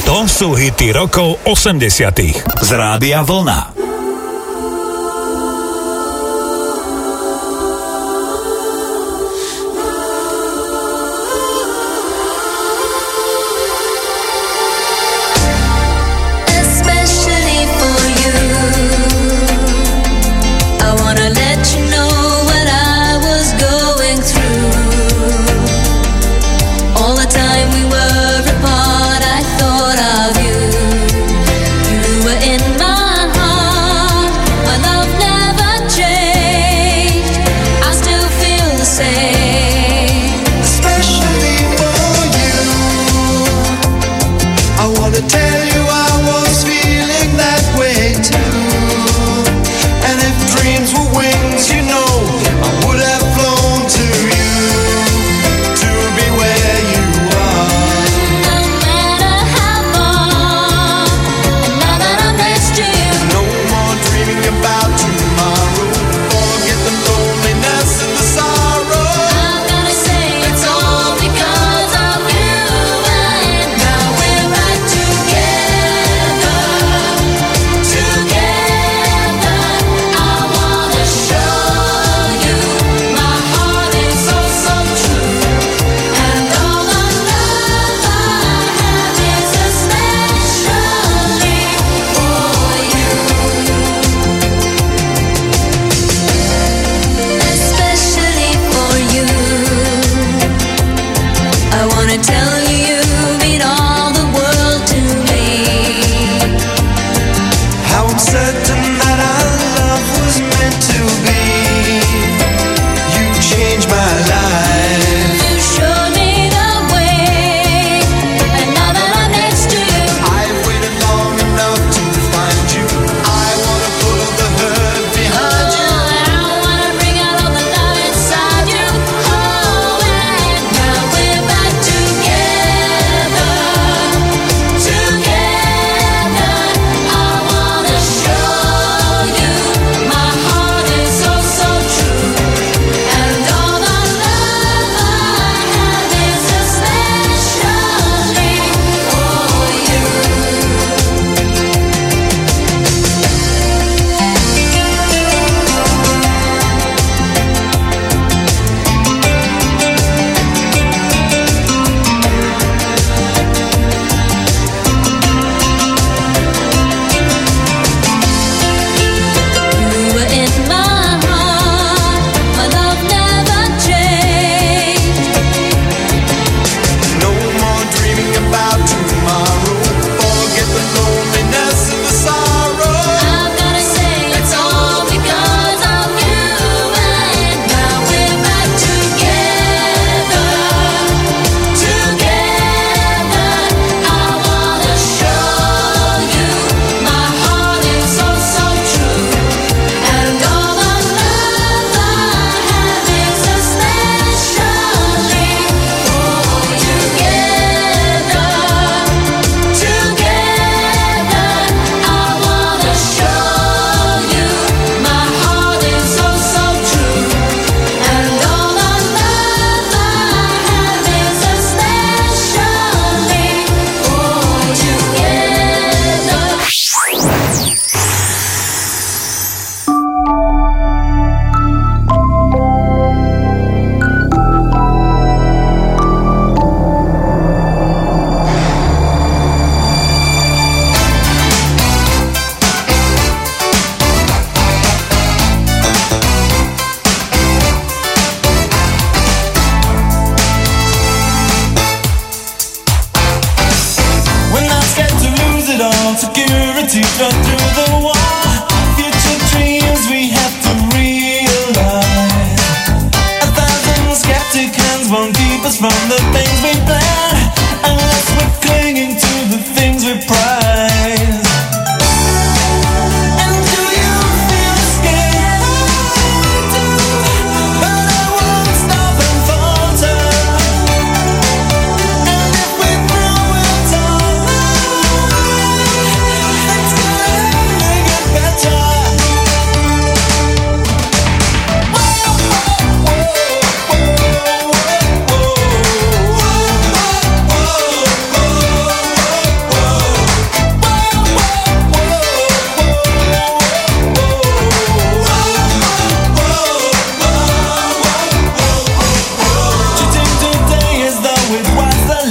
Toto sú hity rokov 80. z Rádia Vlna.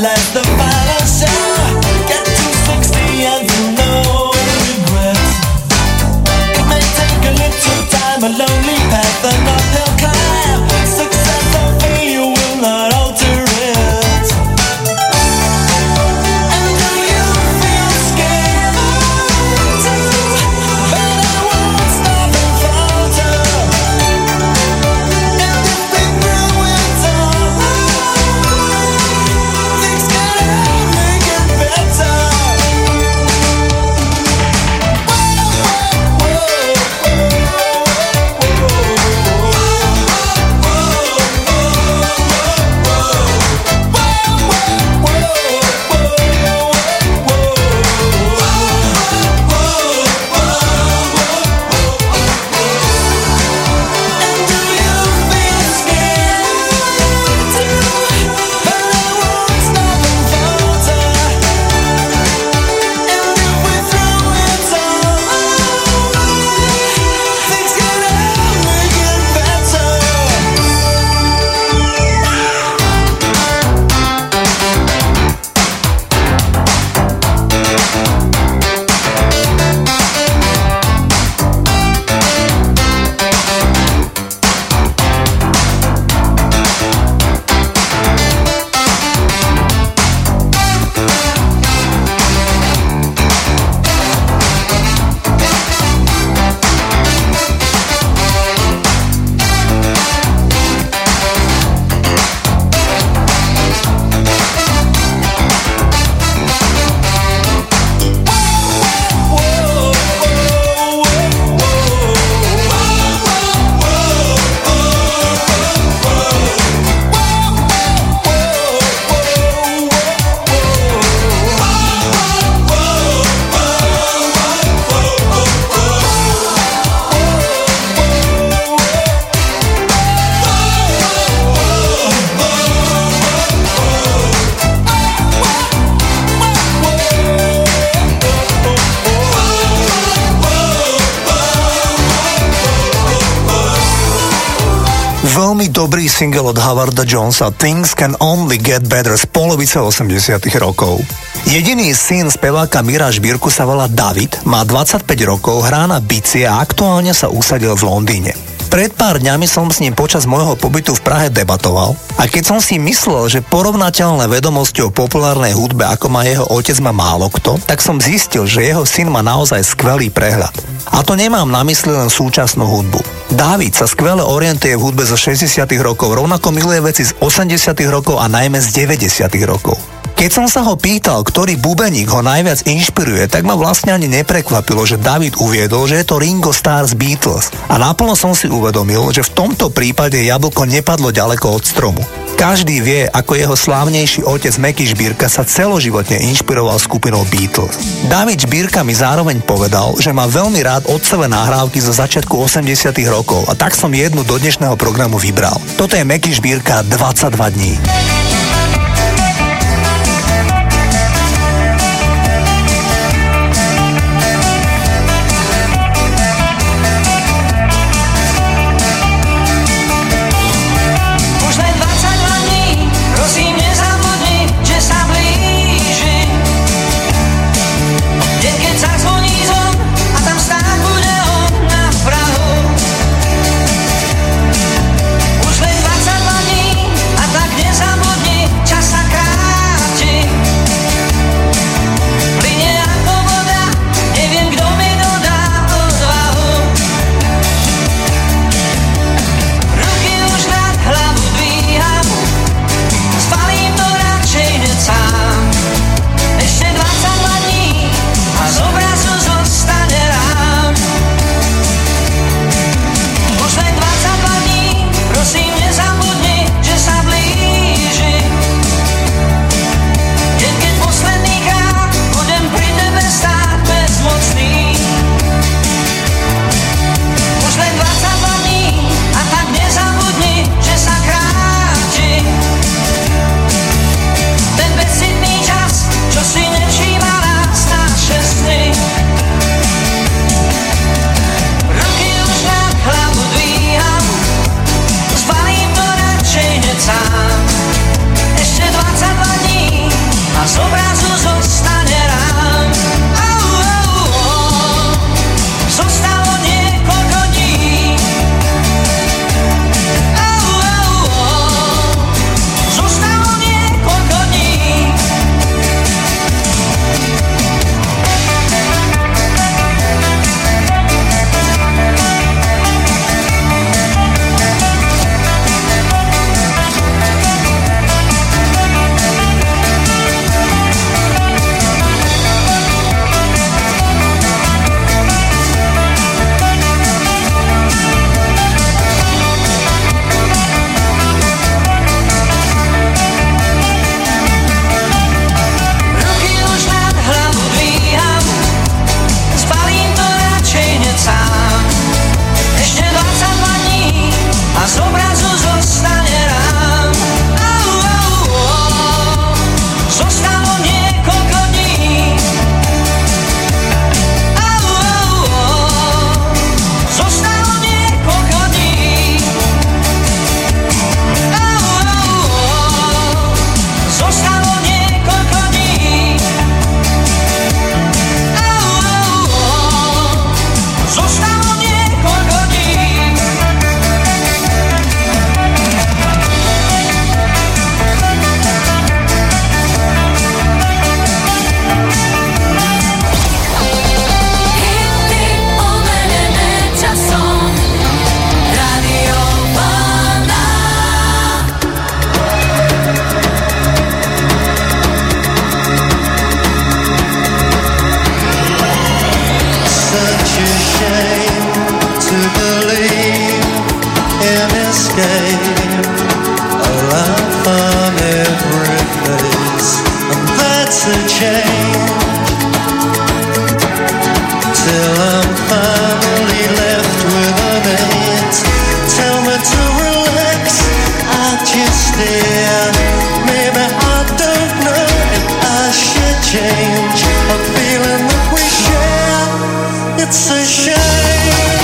life's the final show. Get to 60 and no regrets. It may take a little time, a lonely path, an uphill climb. Success or failure will not alter it. And do you feel scared too? But I won't stop and falter. And if they throw it all, things can only get better. Veľmi dobrý single od Howarda Jonesa Things Can Only Get Better z polovice 80 rokov. Jediný syn speváka Mira Žbírku sa volá David, má 25 rokov, hrá na bicie a aktuálne sa usadil v Londýne. Pred pár dňami som s ním počas môjho pobytu v Prahe debatoval a keď som si myslel, že porovnateľné vedomosti o populárnej hudbe, ako má jeho otec, má málo kto, tak som zistil, že jeho syn má naozaj skvelý prehľad. A to nemám na mysli len súčasnú hudbu. Dávid sa skvele orientuje v hudbe zo 60 rokov, rovnako miluje veci z 80 rokov a najmä z 90 rokov. Keď som sa ho pýtal, ktorý bubeník ho najviac inšpiruje, tak ma vlastne ani neprekvapilo, že David uviedol, že je to Ringo Starr z Beatles. A naplno som si uvedomil, že v tomto prípade jablko nepadlo ďaleko od stromu. Každý vie, ako jeho slávnejší otec Meky Žbírka sa celoživotne inšpiroval skupinou Beatles. David Žbírka mi zároveň povedal, že má veľmi rád otcové nahrávky zo začiatku 80 rokov a tak som jednu do dnešného programu vybral. Toto je Meky Žbírka 22 dní. Už len 22 dní a tak nezabudni. It's a change till I'm finally left with an eight. Tell me to relax, I just stare. Maybe I don't know if I should change. A feeling that we share, it's a shame.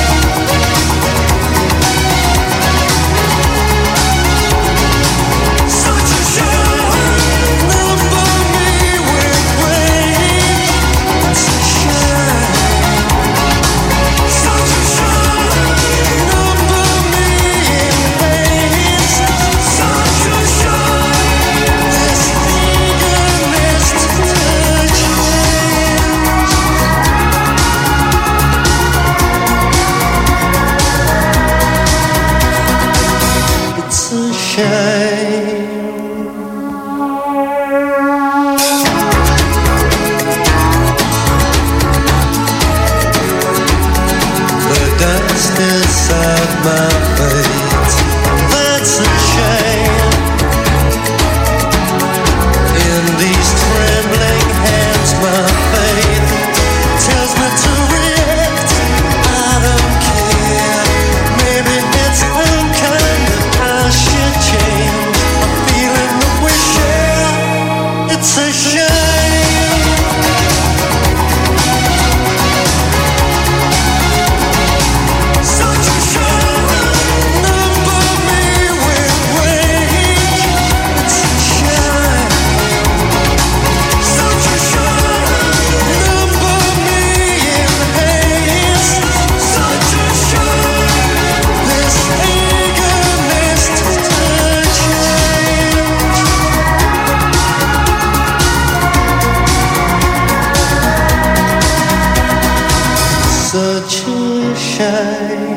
Such a shame. Number me with rage. It's a shame. Such a shame. Number me in haste. Such a shame. This eagerness to change. It's a shame. The dust inside my face, that's a shame. In these trembling hands, my faith tells me to react. I don't care. Maybe it's unkind that I should change. A feeling that we share, it's a shame. Such a shame. Number me with rage. It's a shame. Such a shame. Number me in haste. Such a shame. This eagerness to change. Such a shame.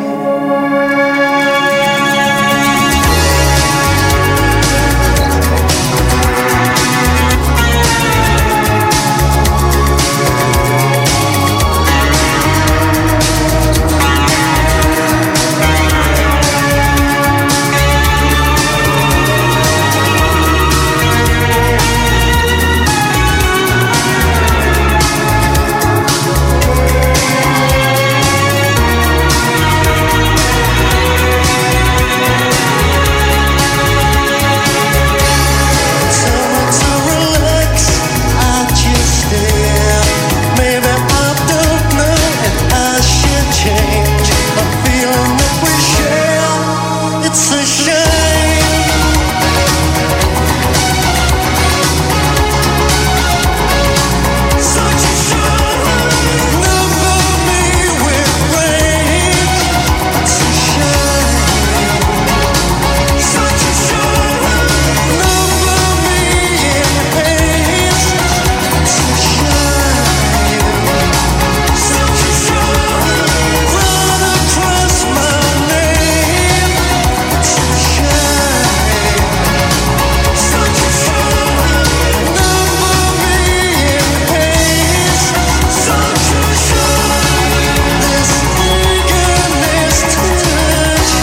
Tell me to relax, I just stare. Maybe I don't know if I should change. A feeling that we share, it's a shame. Such a shame. Number me with rage. It's a shame. Such a shame. Number me in haste. It's a shame. Such a shame. Run across my name. It's a shame. Such a shame. Number me in haste. Such a shame. This eagerness to change.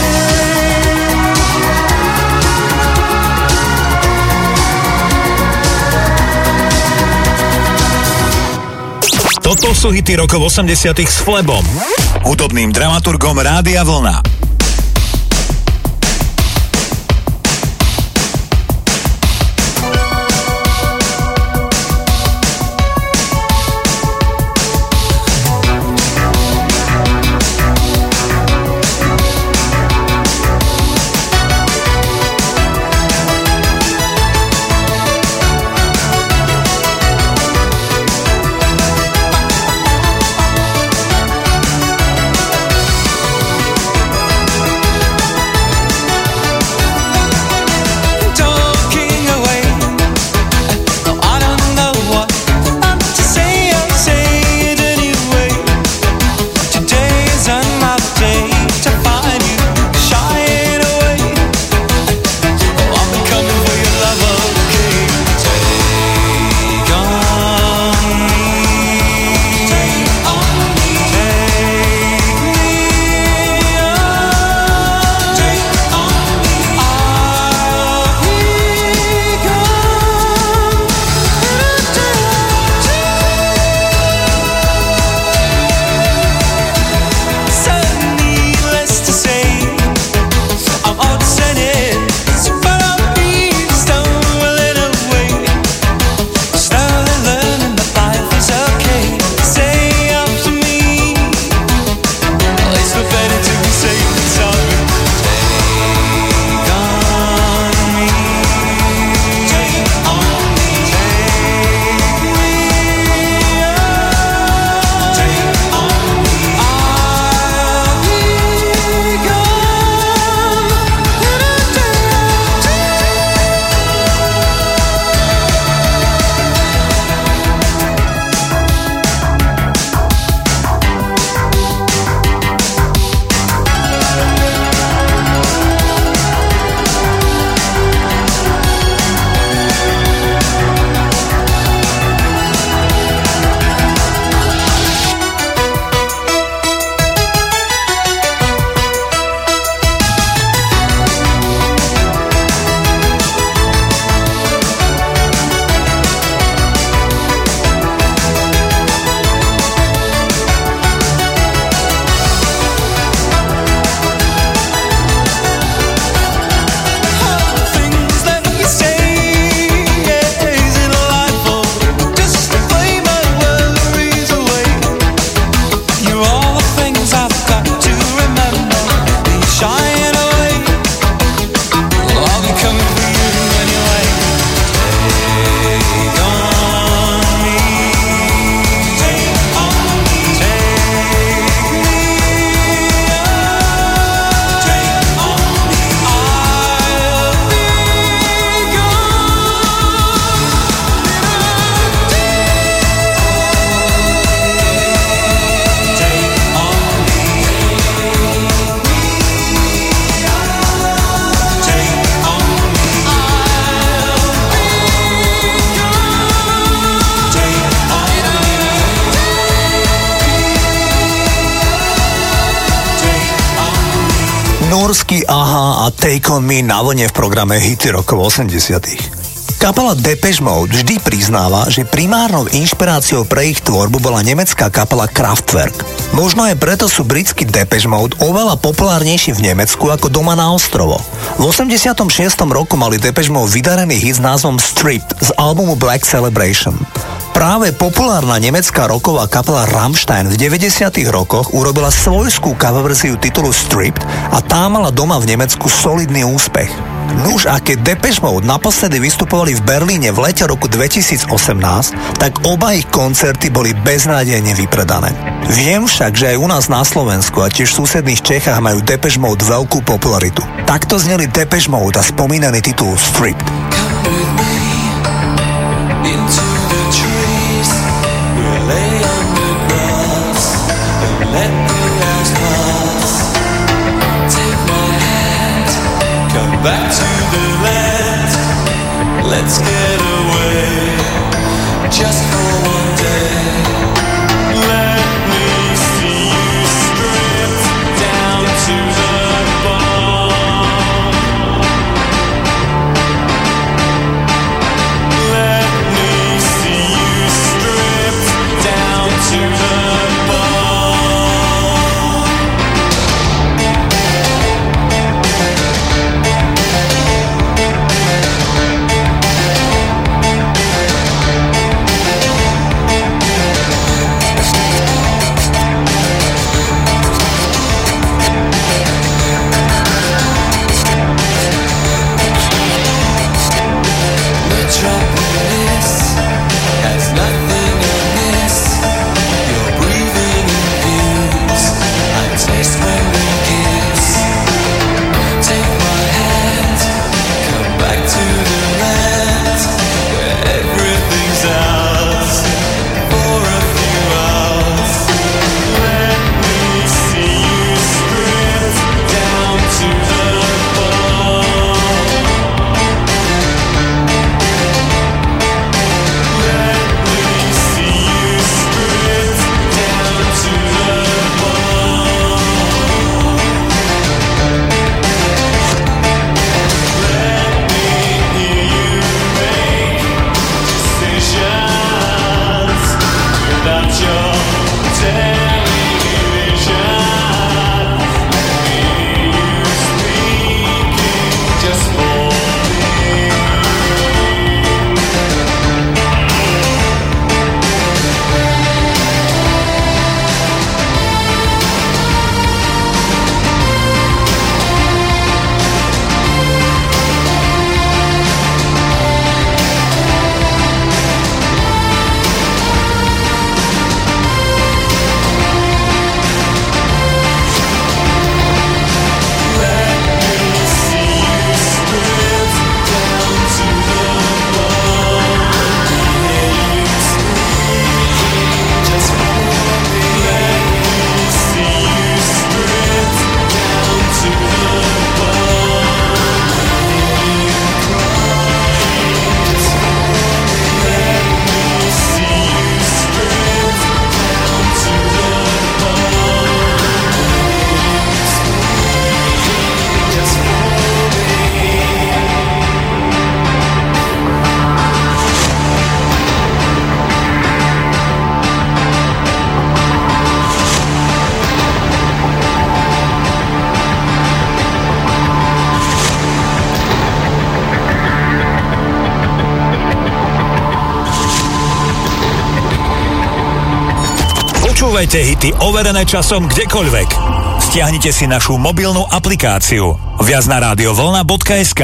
Toto sú hity rokov 80 s Flebom, hudobným dramaturgom Rádia Vlna. Such Pohorsky, Aha a Take On Me na vlne v programe Hity rokov 80. Kapela Depeche Mode vždy priznáva, že primárnou inšpiráciou pre ich tvorbu bola nemecká kapela Kraftwerk. Možno aj preto sú britskí Depeche Mode oveľa populárnejší v Nemecku ako doma na ostrovo. V 86. roku mali Depeche Mode vydarený hit s názvom Stripped z albumu Black Celebration. Práve populárna nemecká rocková kapela Rammstein v 90. rokoch urobila svojskú coververziu titulu Stripped a tá mala doma v Nemecku solidný úspech. Nuž, a keď Depeche Mode naposledy vystupovali v Berlíne v lete roku 2018, tak oba ich koncerty boli beznádejne vypredané. Viem však, že aj u nás na Slovensku a tiež v susedných Čechách majú Depeche Mode veľkú popularitu. Takto zneli Depeche Mode a spomínaný titul Stripped. Back to the land, let's get away, just for one day. Let me see you stripped down to the bone. Let me see you stripped down to the bone. Počúvajte hity overené časom kdekoľvek. Stiahnite si našu mobilnú aplikáciu. Viac na radiovolna.sk.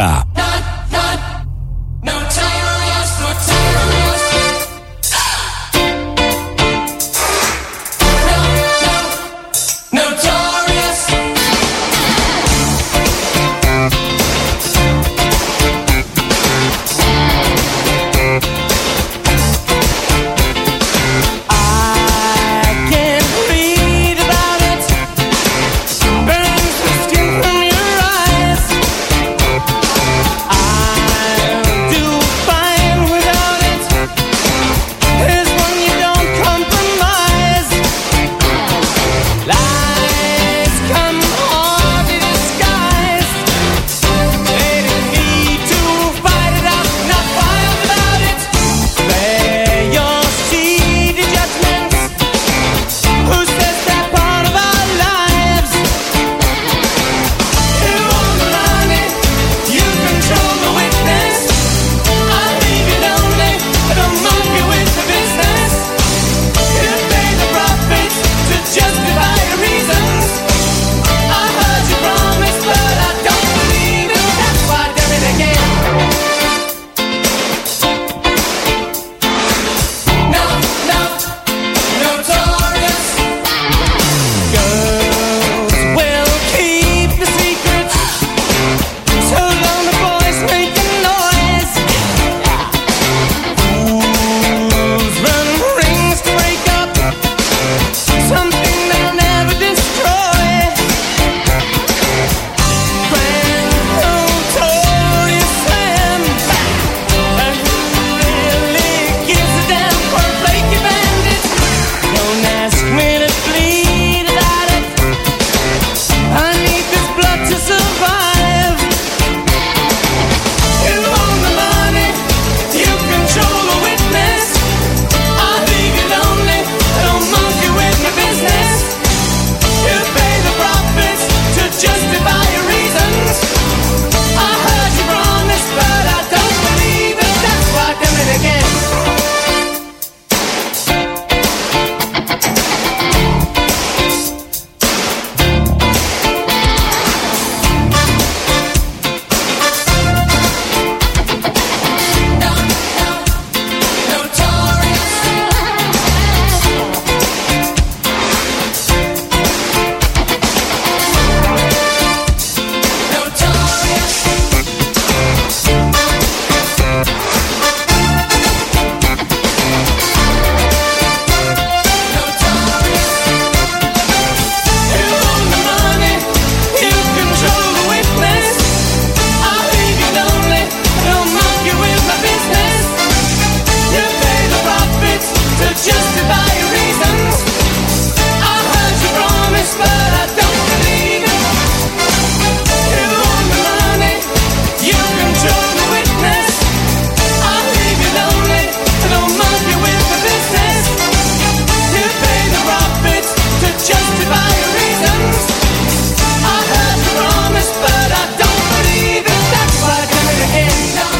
justify your reasons. I heard you promise, but I don't believe it. You want the money, you control the witness. I'll leave you lonely, I don't mug you with the business. You pay the profits to justify your reasons. I heard you promise, but I don't believe it. That's why I do it again.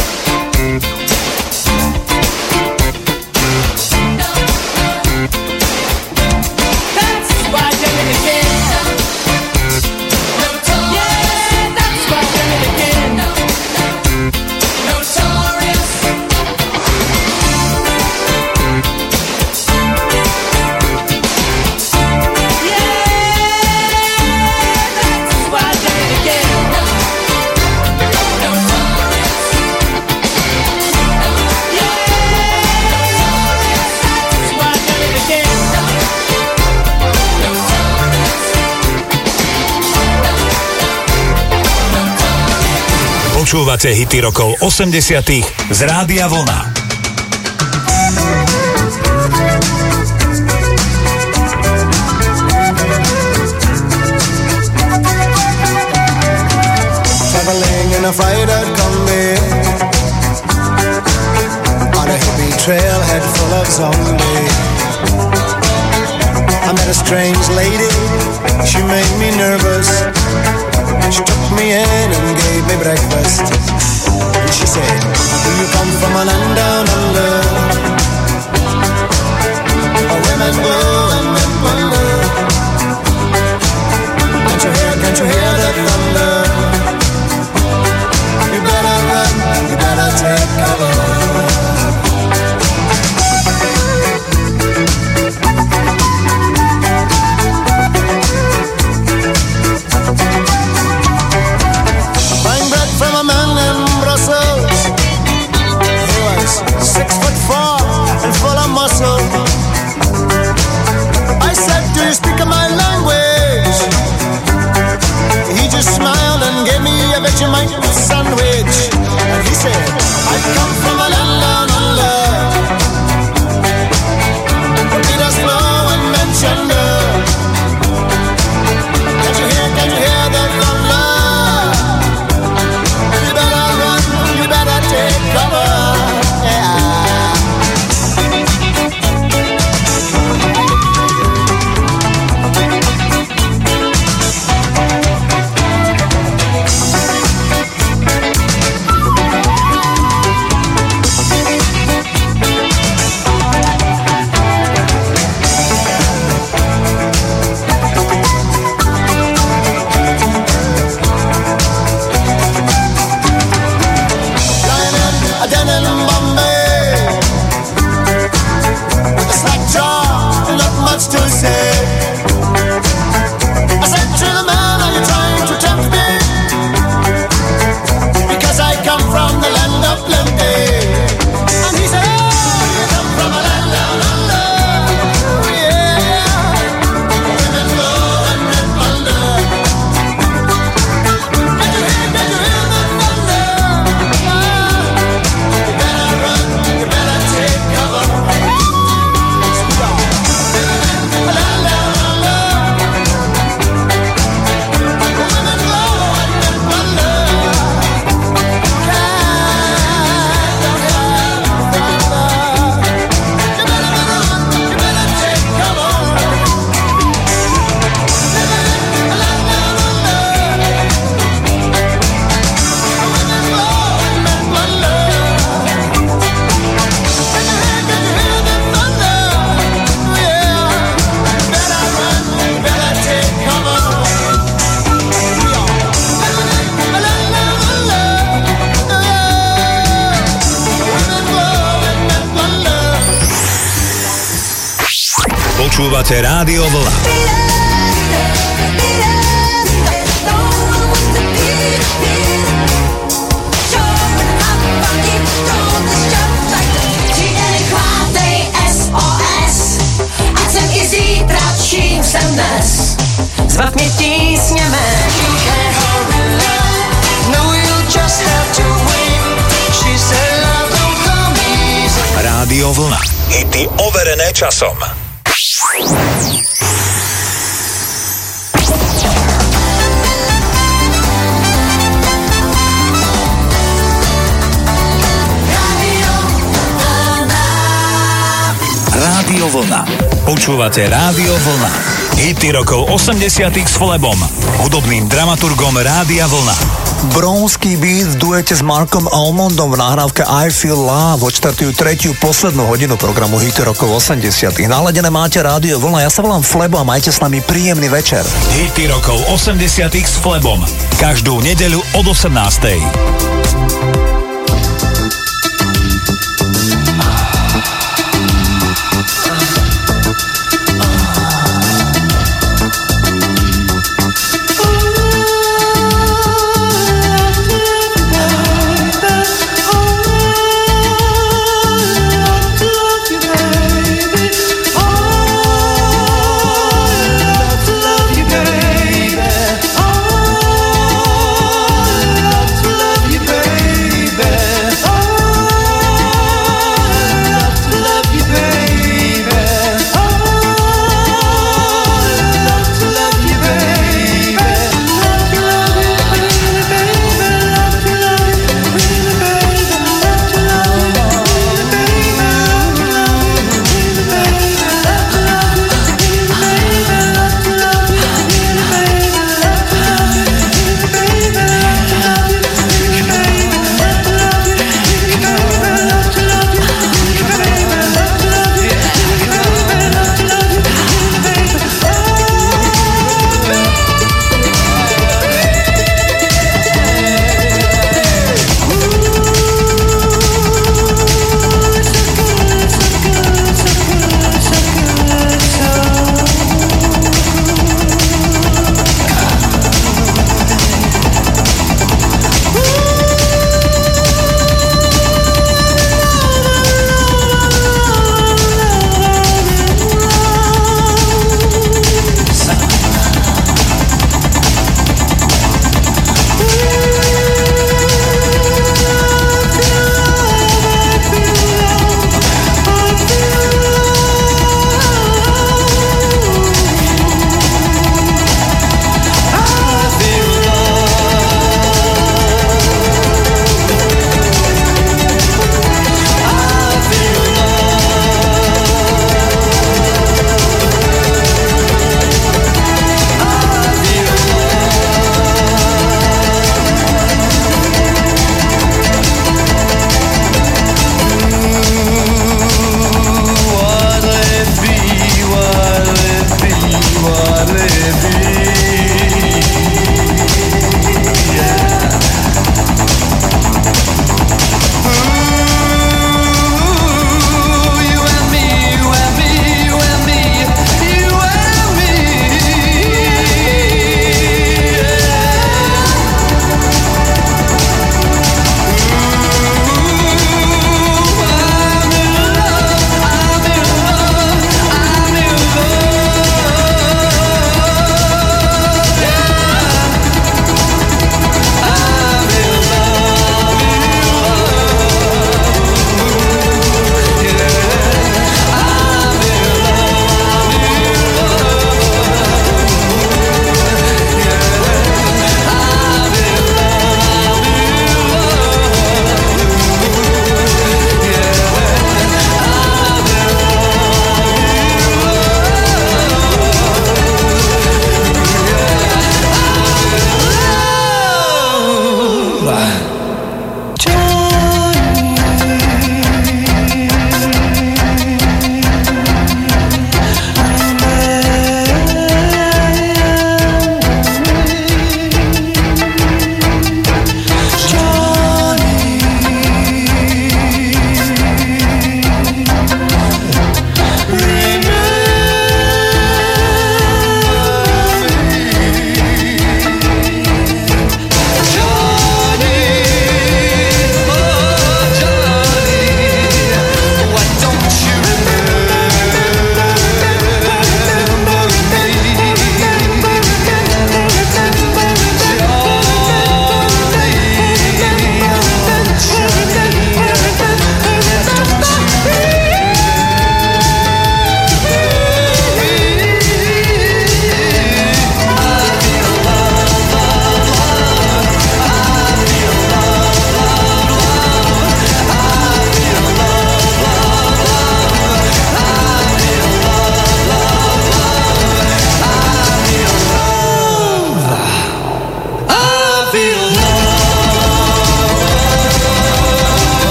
That's why I do it again. Yeah, that's why I do it again. Notorious. Počúvate hity rokov 80 z Rádia Vlna. Traveling in a freighter combi on a hippie trailhead full of zombies. I met a strange lady, she made me nervous. She took me in and gave me breakfast. And she said, do you come from a land down under? Where women go and men wonder. Can't you hear the thunder? You better run, you better take cover. From a man in Brussels, he was 6'4" and full of muscle. I said, do you speak my language? He just smiled and gave me a Vegemite sandwich. And he said, I come from a land down under. The beaters flow and men chunder. Can't you hear the thunder? Take cover, yeah. Počúvate Rádio Vlna. Zvak mě tísněme. Rádio Vlna. Hity overené časom. Rádio Vlna. Počúvate Rádio Vlna. Hity rokov 80 s Flebom, hudobným dramaturgom Rádia Vlna. Bronský beat v duete s Markom Almondom v nahrávke I Feel Love odštartujú tretiu poslednú hodinu programu Hity rokov 80. Naladené máte Rádio Vlna, ja sa volám Flebo a majte s nami príjemný večer. Hity rokov 80 s Flebom. Každú nedeľu od 18. You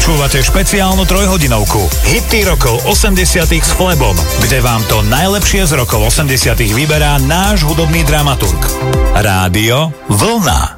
Počúvate špeciálnu trojhodinovku Hity rokov 80 s Flebom, kde vám to najlepšie z rokov 80 vyberá náš hudobný dramaturg. Rádio Vlna.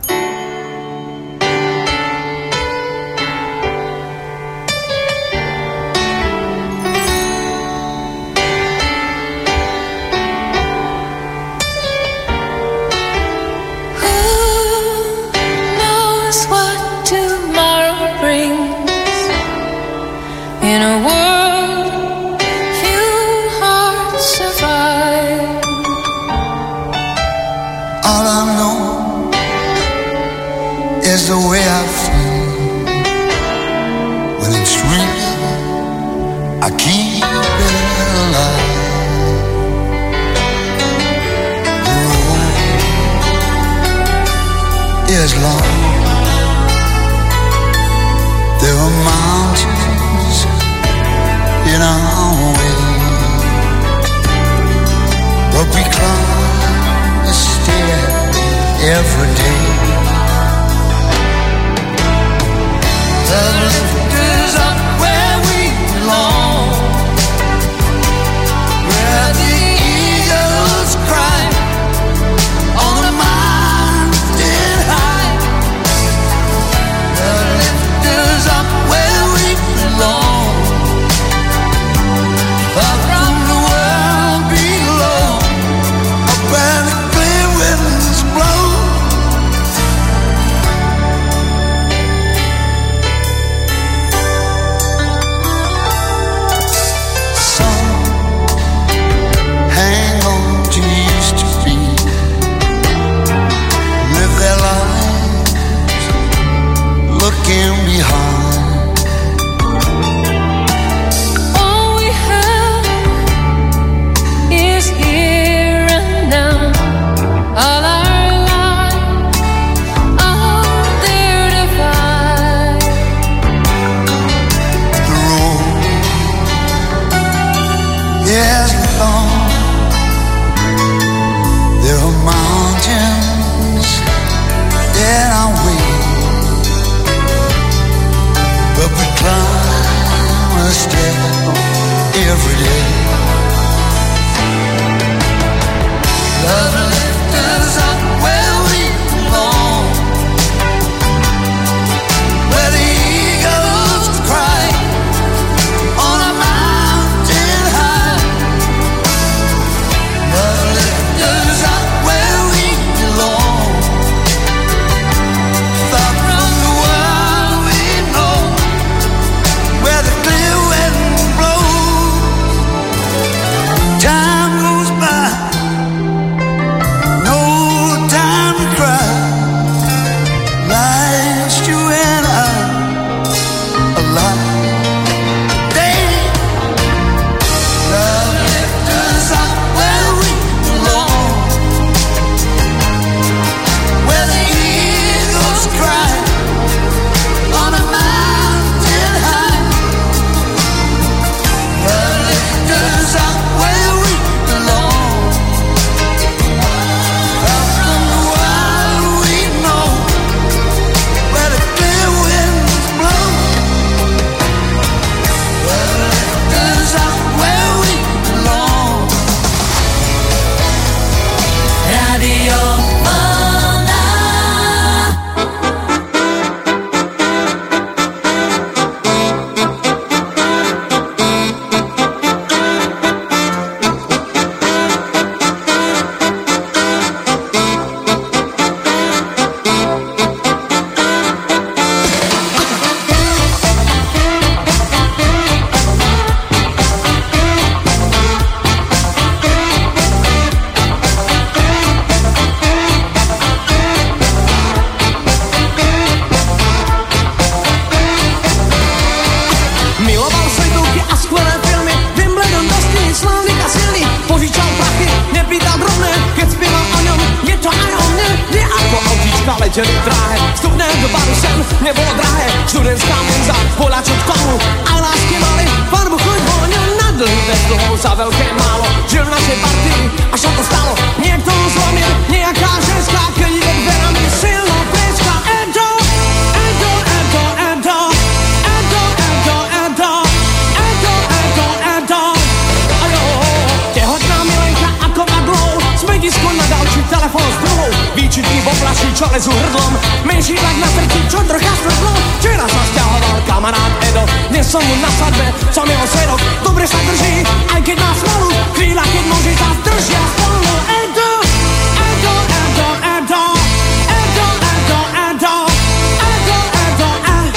letěli dráhe, vstupné do baru sem nebylo drahé, studentská menza, poláčů v komu, a lásky mali, farbu chuť volnil na dlhý bez dlouhou za velké málo, žil v našej partii, až na to stalo, někdo zlomil, nějaká ženská, který ve dverami silnou pěčka, Edo, Edo, Edo, Edo, Edo, lezu hrdlom, menší tlak na trti, čo trocha svrdlo. Včera sa sťahoval kamarád Edo, dnes som mu na svadbe, som jeho svedok. Dobre sa drží, aj keď má smolu, chvíľa, keď noži sa držia spolu. Edo, Edo, Edo, Edo, Edo, Edo, Edo, Edo, Edo,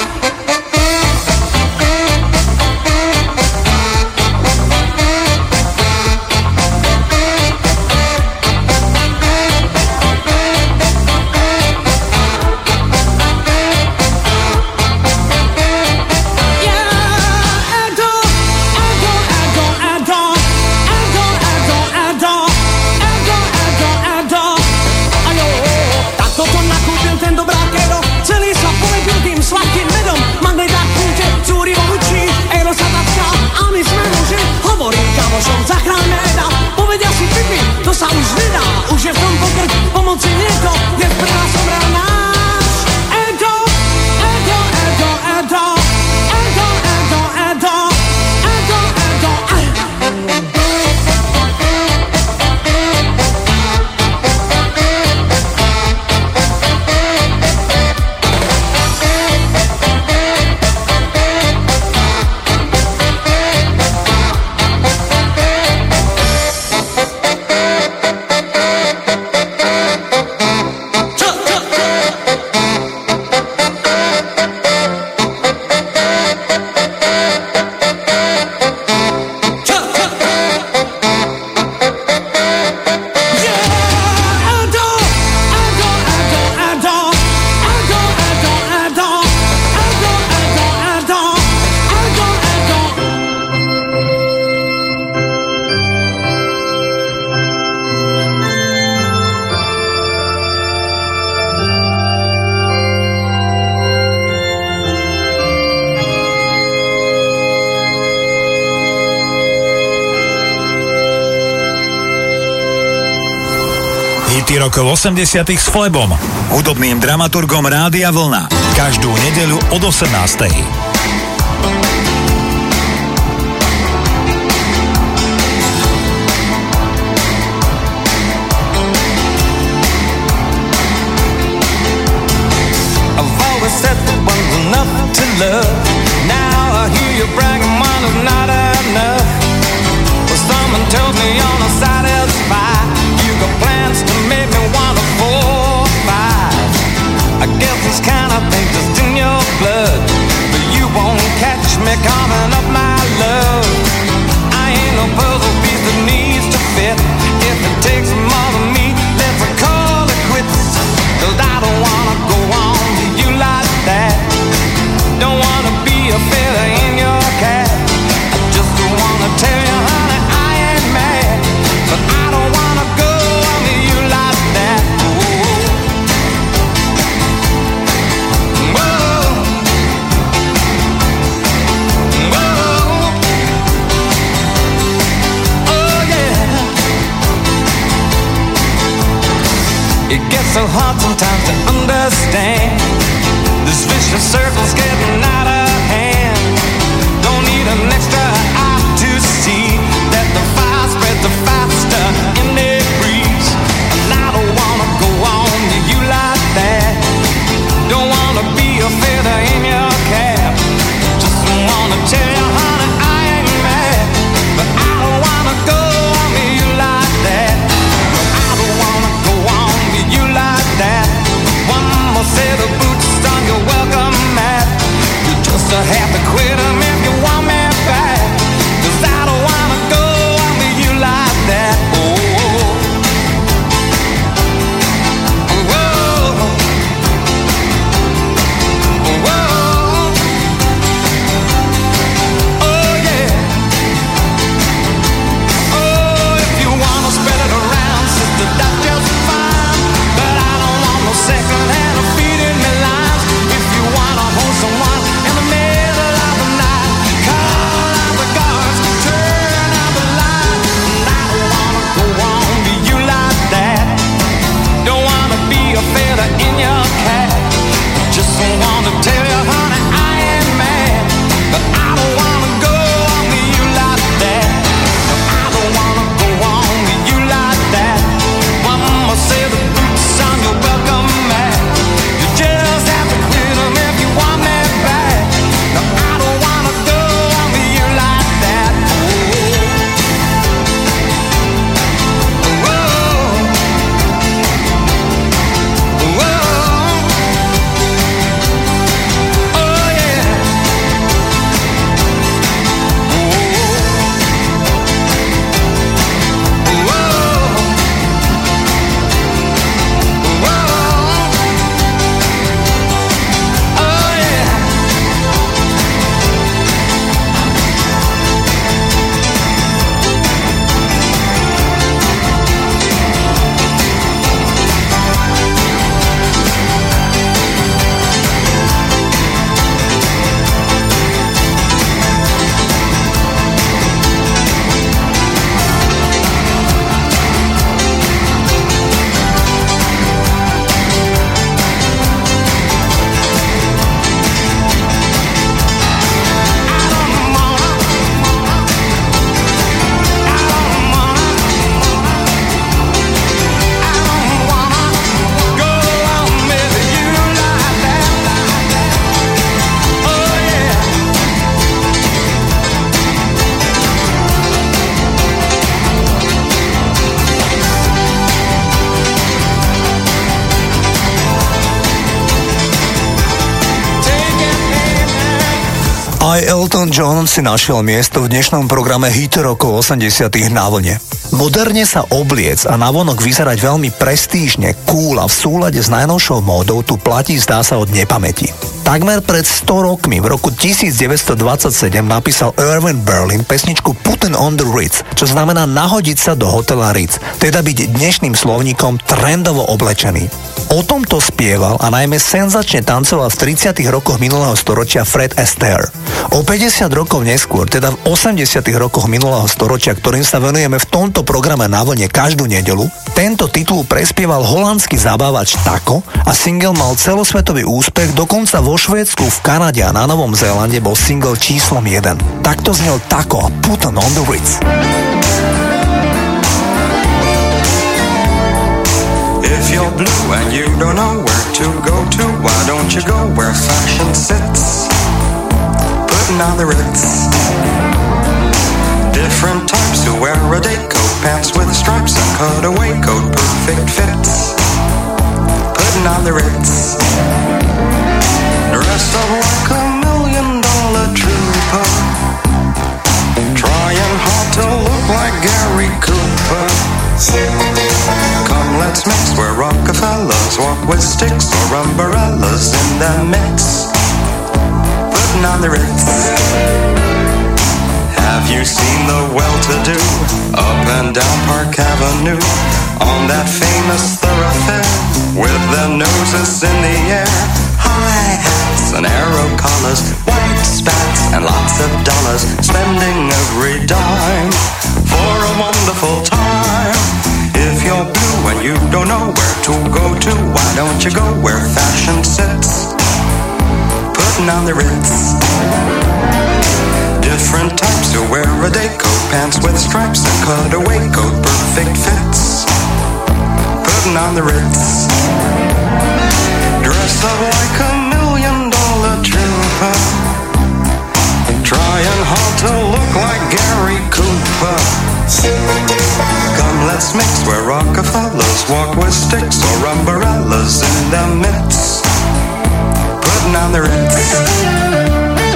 sladkým medom, magneták púte, cúri vo hučí, Eero sa tacká a my sme muži. Hovorí kamošom, zachráňme Eda, povedia si pipi, to sa už nedá. Už je v tom pokrť, pomoci niekto, dnes prvá somrel náš Edo, Edo, Edo, Edo, Edo, Edo, Edo, Edo, Edo, rokov 80 s Flebom, hudobným dramaturgom Rádia Vlna. Každú nedeľu od 18. I've always said that one's enough to love. Now I hear you bragging one is not enough. Well, someone tells me you're not satisfied. You got plans to make me wanna 4 or 5. I guess this kind of thing just in your blood, but you won't catch me coming up, my love. I ain't no puzzle piece that needs to fit. If it takes more than me, let's call it quits. 'Cause I don't wanna go on to you like that. Don't wanna be a feather in your cap. I just wanna tell you, honey, I ain't mad, but I don't wanna go on to you like that. It gets so hard sometimes to understand. This vicious circle's getting out of hand. Don't need an extra eye to see that the fire spreads the faster in the breeze. And I don't wanna go on to you like that. Don't wanna be a feather in your cap. Just wanna tell you, honey, I ain't mad, but I don't wanna go on to you like that. I don't wanna go on to you like that. One more set of boots on your welcome mat. You just have to quit 'em if you want me back. 'Cause I don't wanna go on to you like that. Aj Elton John si našiel miesto v dnešnom programe Hit rokov 80. na vlne. Moderne sa obliec a navonok vyzerať veľmi prestížne, cool a v súlade s najnovšou módou tu platí zdá sa od nepamäti. Takmer pred 100 rokmi, v roku 1927, napísal Irving Berlin pesničku Putting on the Ritz, čo znamená nahodiť sa do hotela Ritz, teda byť dnešným slovníkom trendovo oblečený. O tomto spieval a najmä senzačne tancoval v 30. rokoch minulého storočia Fred Astaire. O 50 rokov neskôr, teda v 80. rokoch minulého storočia, ktorým sa venujeme v tomto programe na vlne každú nedeľu, tento titul prespieval holandský zabávač Taco a single mal celosvetový úspech, dokonca vo Švédsku, v Kanade a na Novom Zélande bol single číslom 1. Takto znel Taco a Putting on the Ritz. If you're blue and you don't know where to go to, why don't you go where fashion sits? Putting on the Ritz. Different types who wear a day coat, pants with stripes and cutaway coat, perfect fits. Putting on the Ritz. Dressed up like $1 million trooper, trying hard to look like Gary Cooper. Come, let's mix where Rockefellers walk with sticks or umbrellas in the mix. Putting on the Ritz. Have you seen the well-to-do up and down Park Avenue on that famous thoroughfare with their noses in the air? High hats and arrow collars, white spats and lots of dollars, spending every dime for a wonderful time. If you're blue and you don't know where to go to, why don't you go where fashion sits? Putting on the Ritz. Different types who wear a day coat, pants with stripes and cutaway coat, perfect fits. Putting on the Ritz. Dressed up like $1 million trooper, trying hard to look like Gary Cooper. Come, let's mix where Rockefellers walk with sticks or umbrellas in the midst. Putting on the Ritz.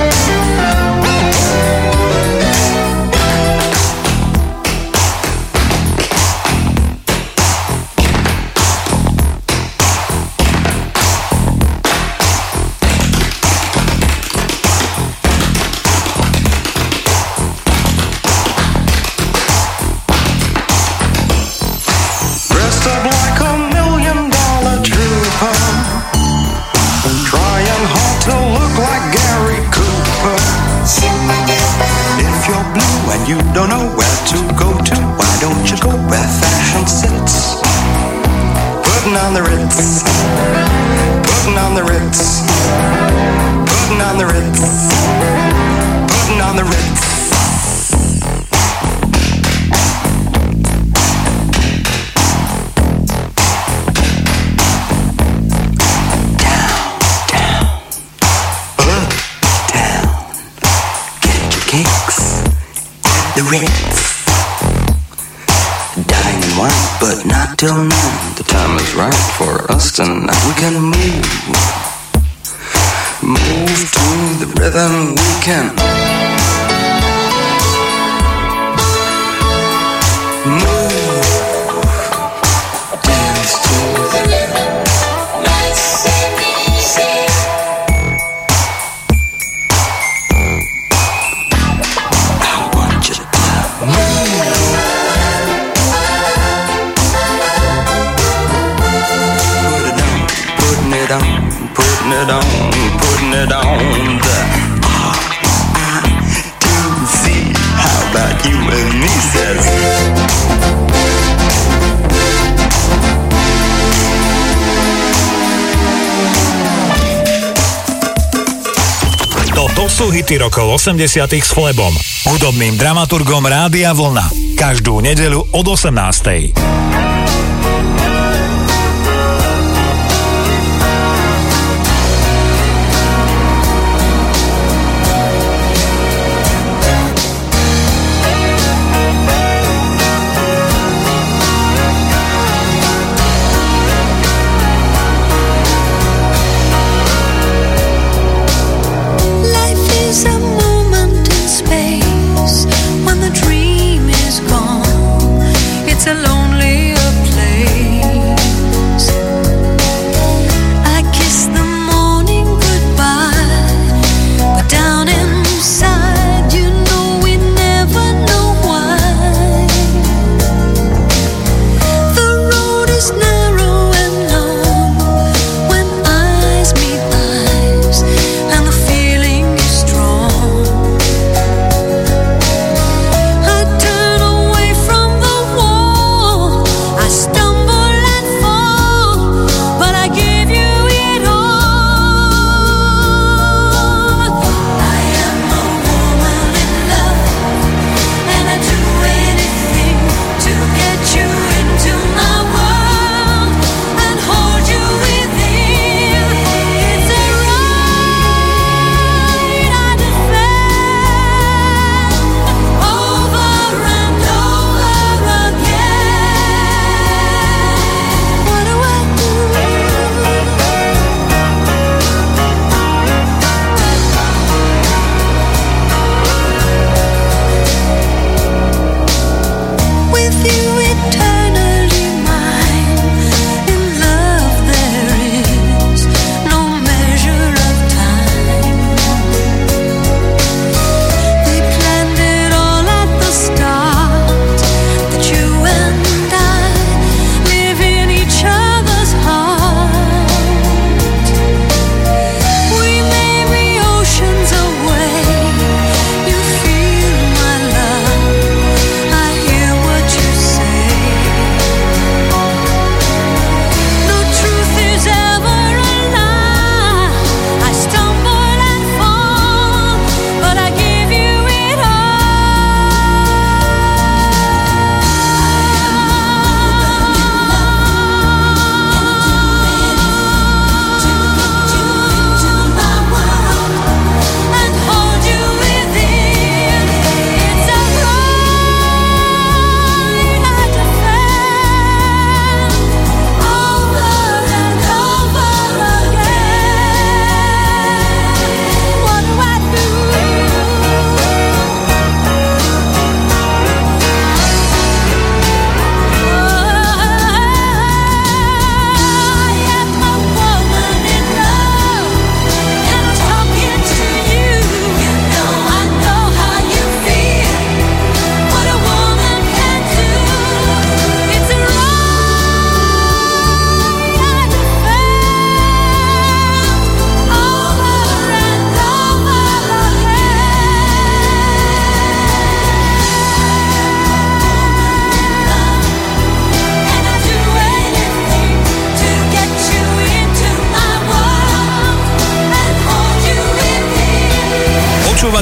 You don't know where to go to, why don't you go where fashion sits? Putting on the Ritz. Putting on the Ritz. Putting on the Ritz. Putting on the Ritz. The Ritz. Dining wine, but not till noon. The time is right for us tonight. We can move to the rhythm. We can move, dance to the rhythm. Nice and easy. Putting it on the R-I-T-Z. How about you and me, says. Toto sú hity rokov 80 s Flebom, hudobným dramaturgom Rádia Vlna. Každú nedeľu od 18. Life is a movie.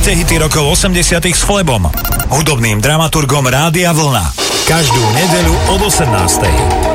Počúvate hity rokov 80 s Flebom, hudobným dramaturgom Rádia Vlna. Každú nedeľu od 18.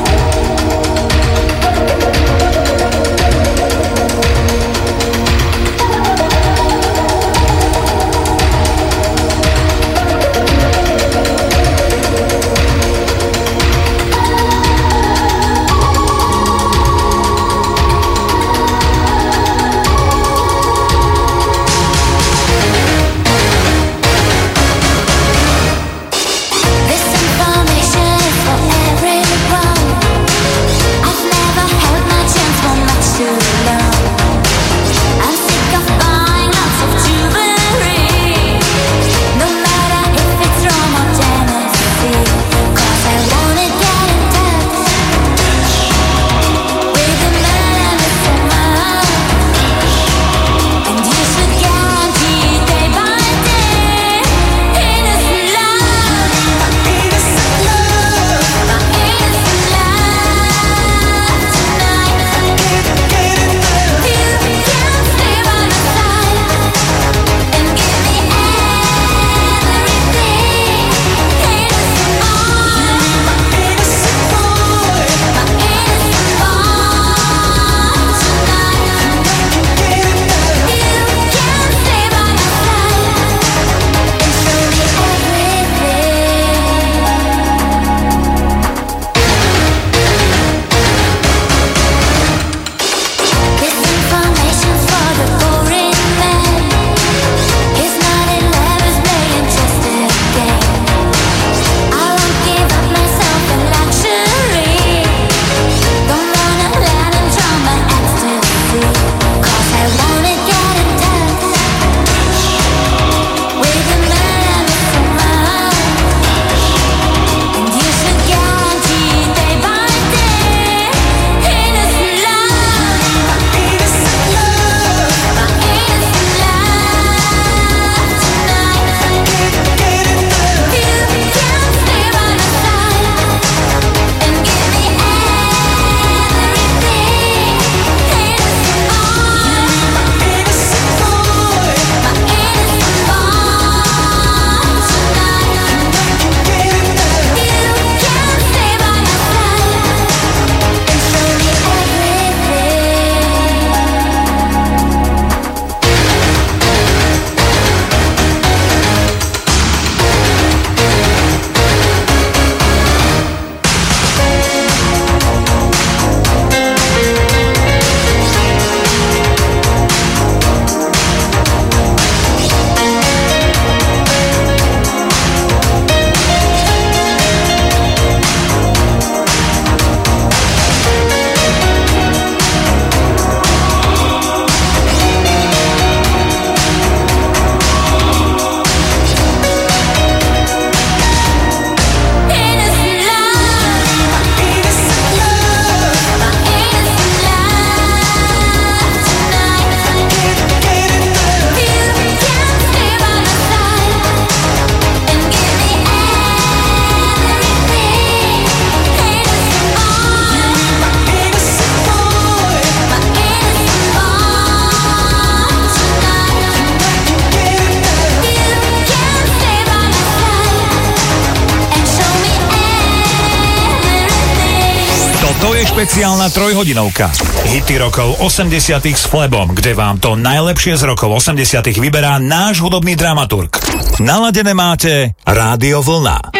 Špeciálna trojhodinovka. Hity rokov 80 s Flebom, kde vám to najlepšie z rokov 80 vyberá náš hudobný dramaturg. Naladené máte Rádio Vlna.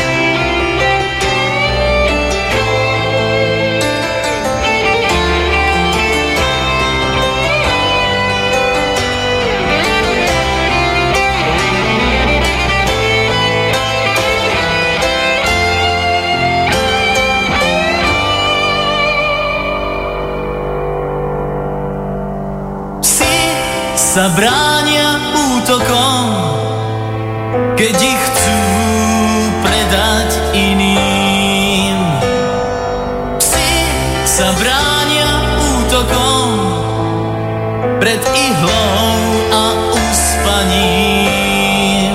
Sa bránia útokom, keď ich chcú predať iným. Psi sa bránia útokom pred ihlou a uspaním.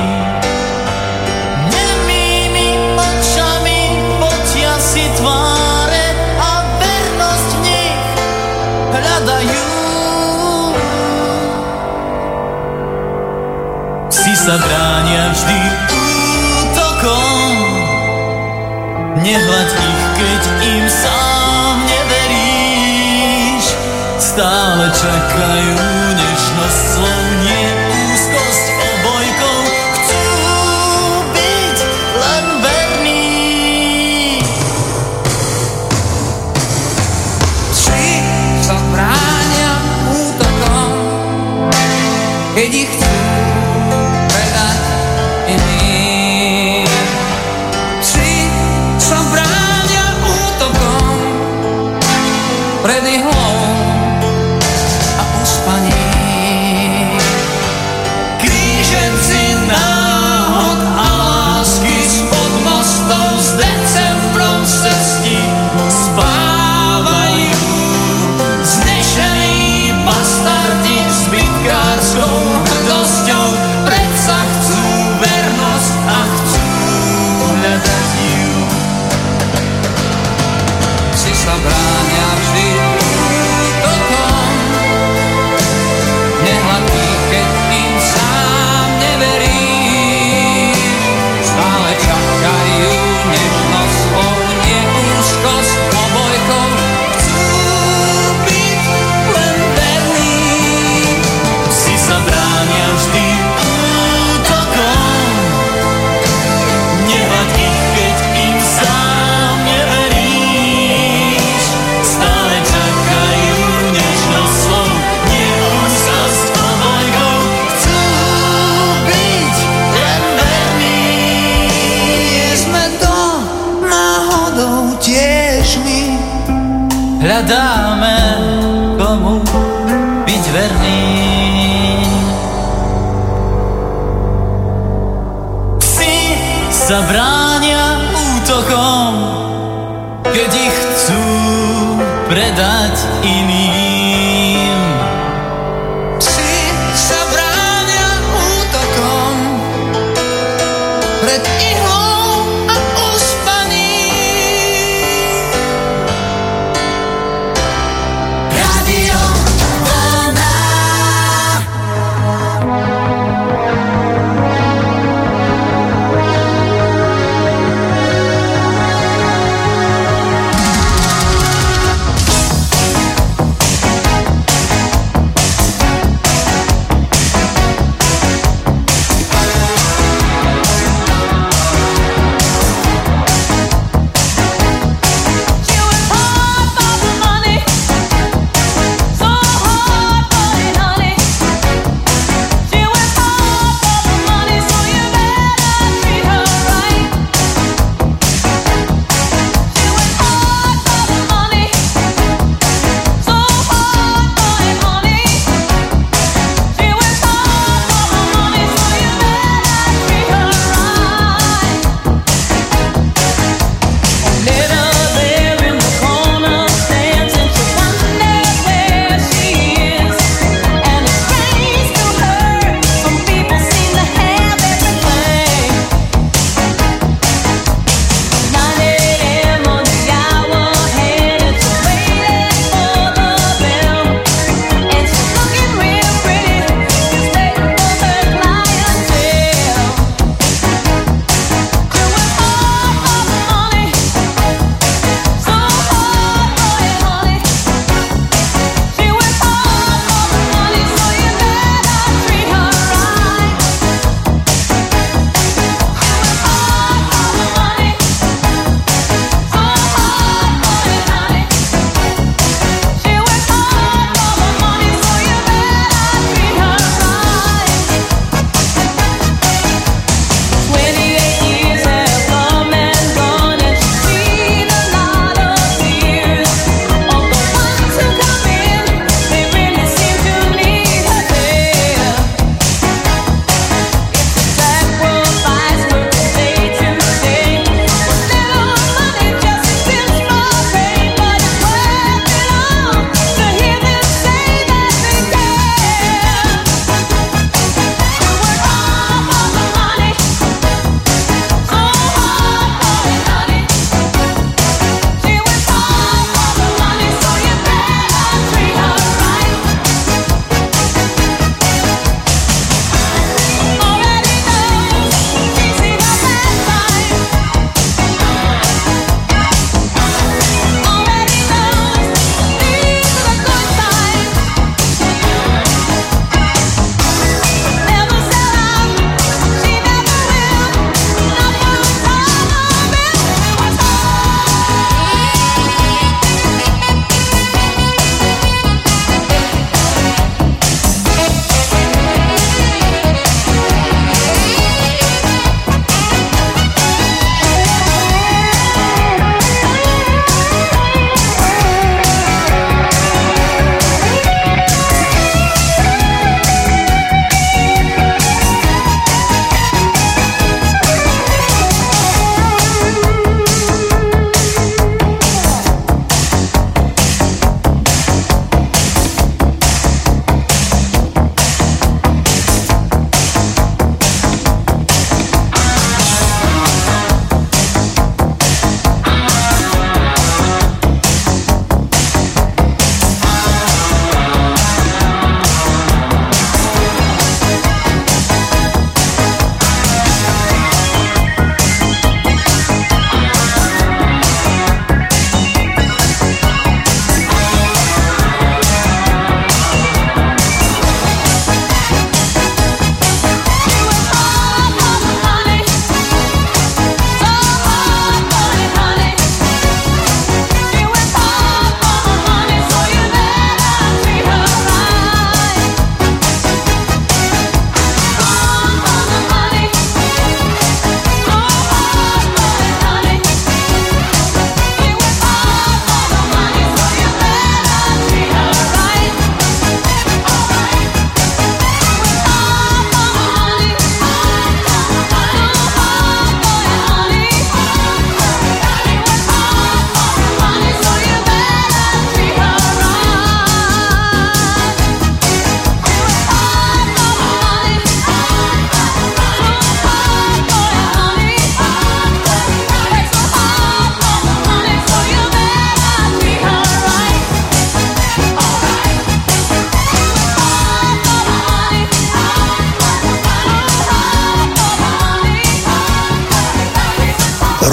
Nemými očami potia si tváre a vernosť v nich hľadajú. sa bránia vždy útokom. Nehľaď ich, keď im sám neveríš. Stále čakajú nežnosť slov, nie úzkosť obojkou. Chcú byť len verní. Či sa bránia útokom, keď ich chcú predať iným. Či sa bránia útokom pred ihlou a uspaním. Kríženci náhod a lásky spod mostov s decembrom v cesti spávajú. Znešení bastardi s bytkárskou hrdosťou predsa chcú vernosť a chcú hľadať ju. Si sa bránia vždy útokom. Nehľad ich, keď im sám neveríš. Stále čakajú nežnosť slov, nie úzkosť obojkou. Chcú byť len verní. Si sa bránia vždy útokom. Nehľad ich, keď im sám neveríš. Stále čakajú nežnosť slov, nie úzkosť obojkou. Chcú byť len verní. Sme to náhodou tiež my. Hľadáme, komu byť verný. Psi sa bránia útokom, keď ich chcú predať iným. Psi sa bránia útokom pred ihlou a uspaním. Radio Vlna.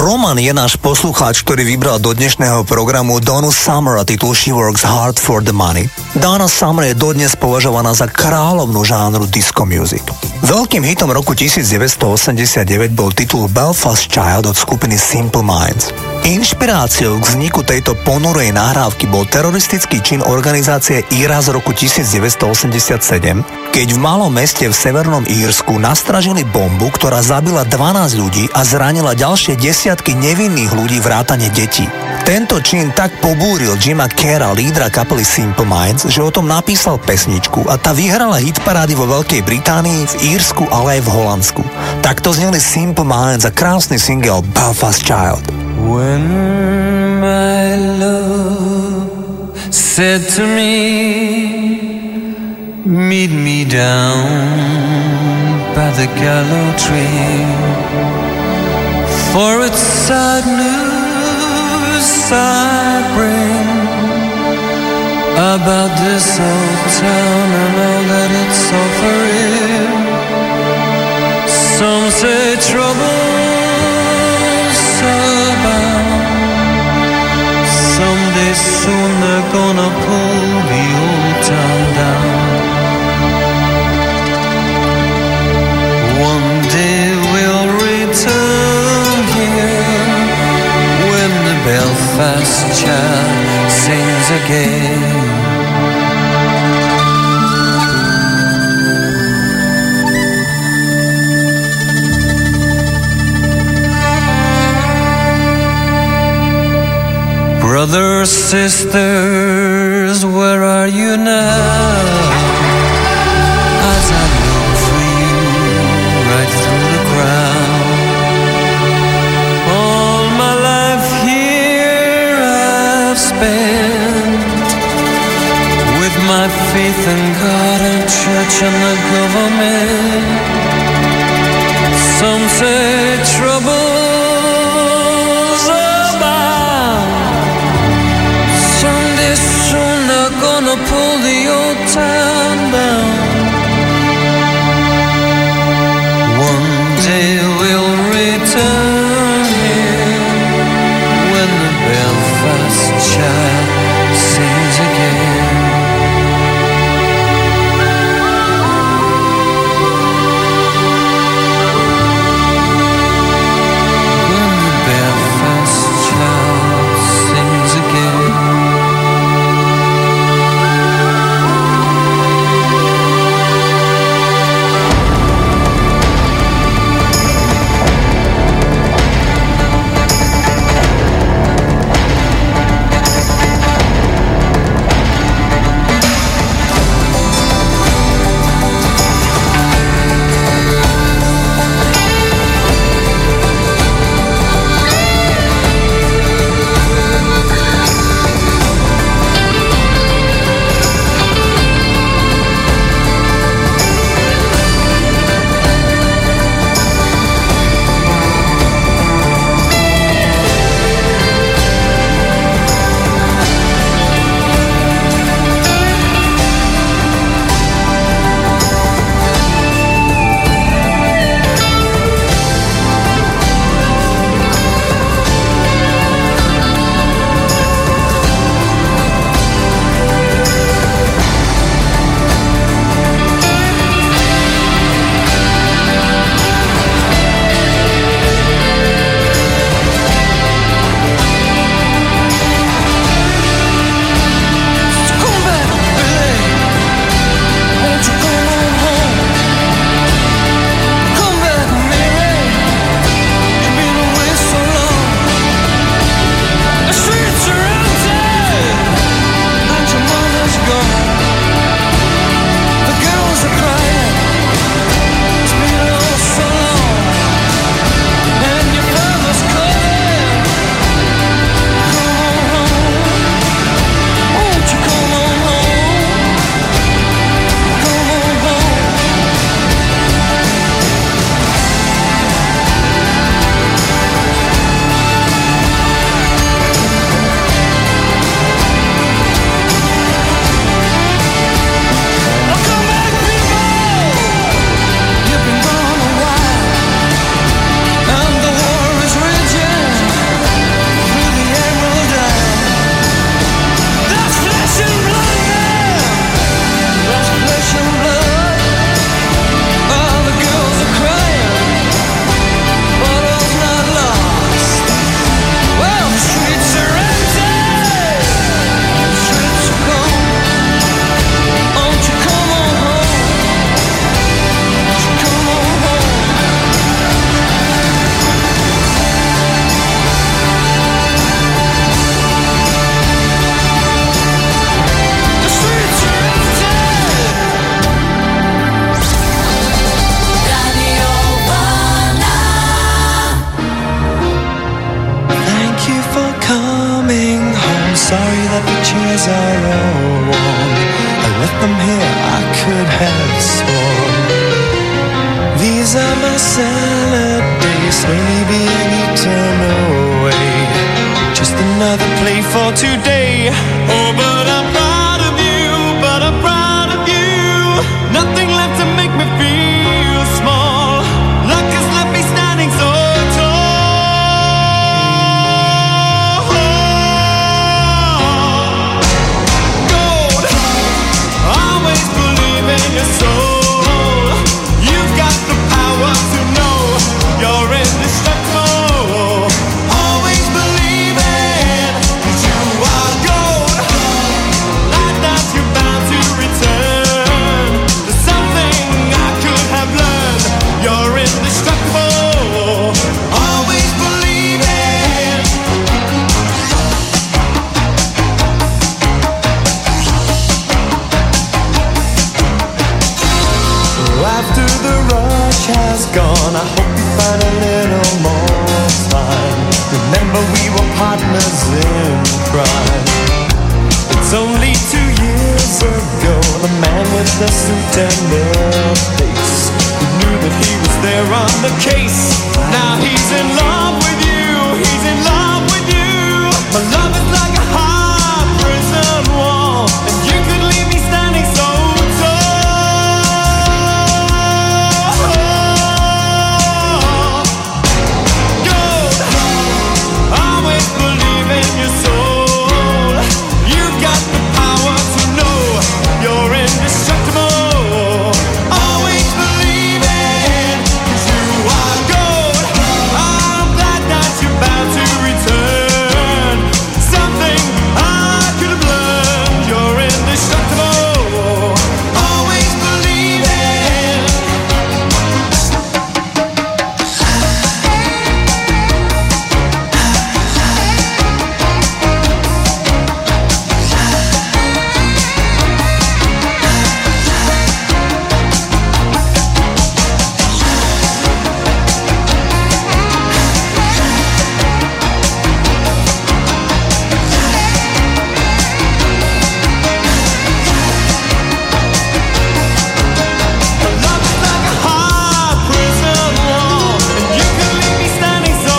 Roman je náš poslucháč, ktorý vybral do dnešného programu Donna Summer a titul She Works Hard for the Money. Donna Summer je dodnes považovaná za kráľovnú žánru disco music. Veľkým hitom roku 1989 bol titul Belfast Child od skupiny Simple Minds. Inšpiráciou k vzniku tejto ponurej nahrávky bol teroristický čin organizácie IRA z roku 1987, keď v malom meste v Severnom Írsku nastražili bombu, ktorá zabila 12 ľudí a zranila ďalšie desiatky nevinných ľudí vrátane detí. Tento čin tak pobúril Jima Carra, lídra kapely Simple Minds, že o tom napísal pesničku a tá vyhrala hitparády vo Veľkej Británii, v Írsku, ale aj v Holandsku. Takto zneli Simple Minds a krásny single Belfast Child. When my love said to me, meet me down by the gallows tree, for it's sad news I bring about this old town and all that it's offering. Some say trouble's abound. Someday soon they're gonna pull the old town down. One day we'll return here when the Belfast child sings again. Brothers, sisters, where are you now? As I look for you right through the crowd. All my life here I've spent with my faith in God and church and the government. Some say trouble's abound. Someday soon they're gonna pull the old town down. One day we'll return here when the Belfast child sings again. When the Belfast child sings again. days are all worn. I left them here, I could have sworn. These are my salad days, slowly being eaten away. Just another play for today. Oh, but I'm proud of you, but I'm proud of you. Nothing left to make me feel small. Luck has left me standing so tall. Gold, always believe in your soul. You've got the power to know you're indestructible. Always believe it, 'cause you are gold. Like that you're bound to return. There's something I could have learned. You're indestructible. Always believe it. So after the rush has gone, I hope you find a little more time. Remember we were partners in crime. It's only 2 years ago, the man with the suit and the face, who knew that he was there on the case. Now he's in love with you, he's in love with you. My love is like a high prison wall, and you could leave me standing so tall. Gold, always believe in your soul. You've got the power to know you're indestructible. Always believe it, 'cause you are gold. I'm glad that you're bound to return. Something I could have learned. You're indestructible. Always believe it. Love is like a high prison wall, and you could leave me standing so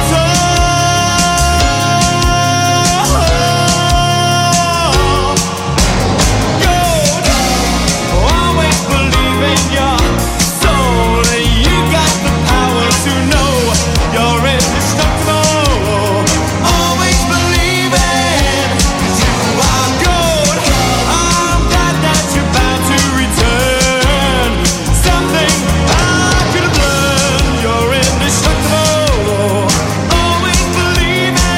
tall. Gold, always believe in your soul. You got the power to know you're indestructible. Always believe it, 'cause you are gold. I'm glad that you're bound to return. Something I could have learned. You're indestructible. Always believe it.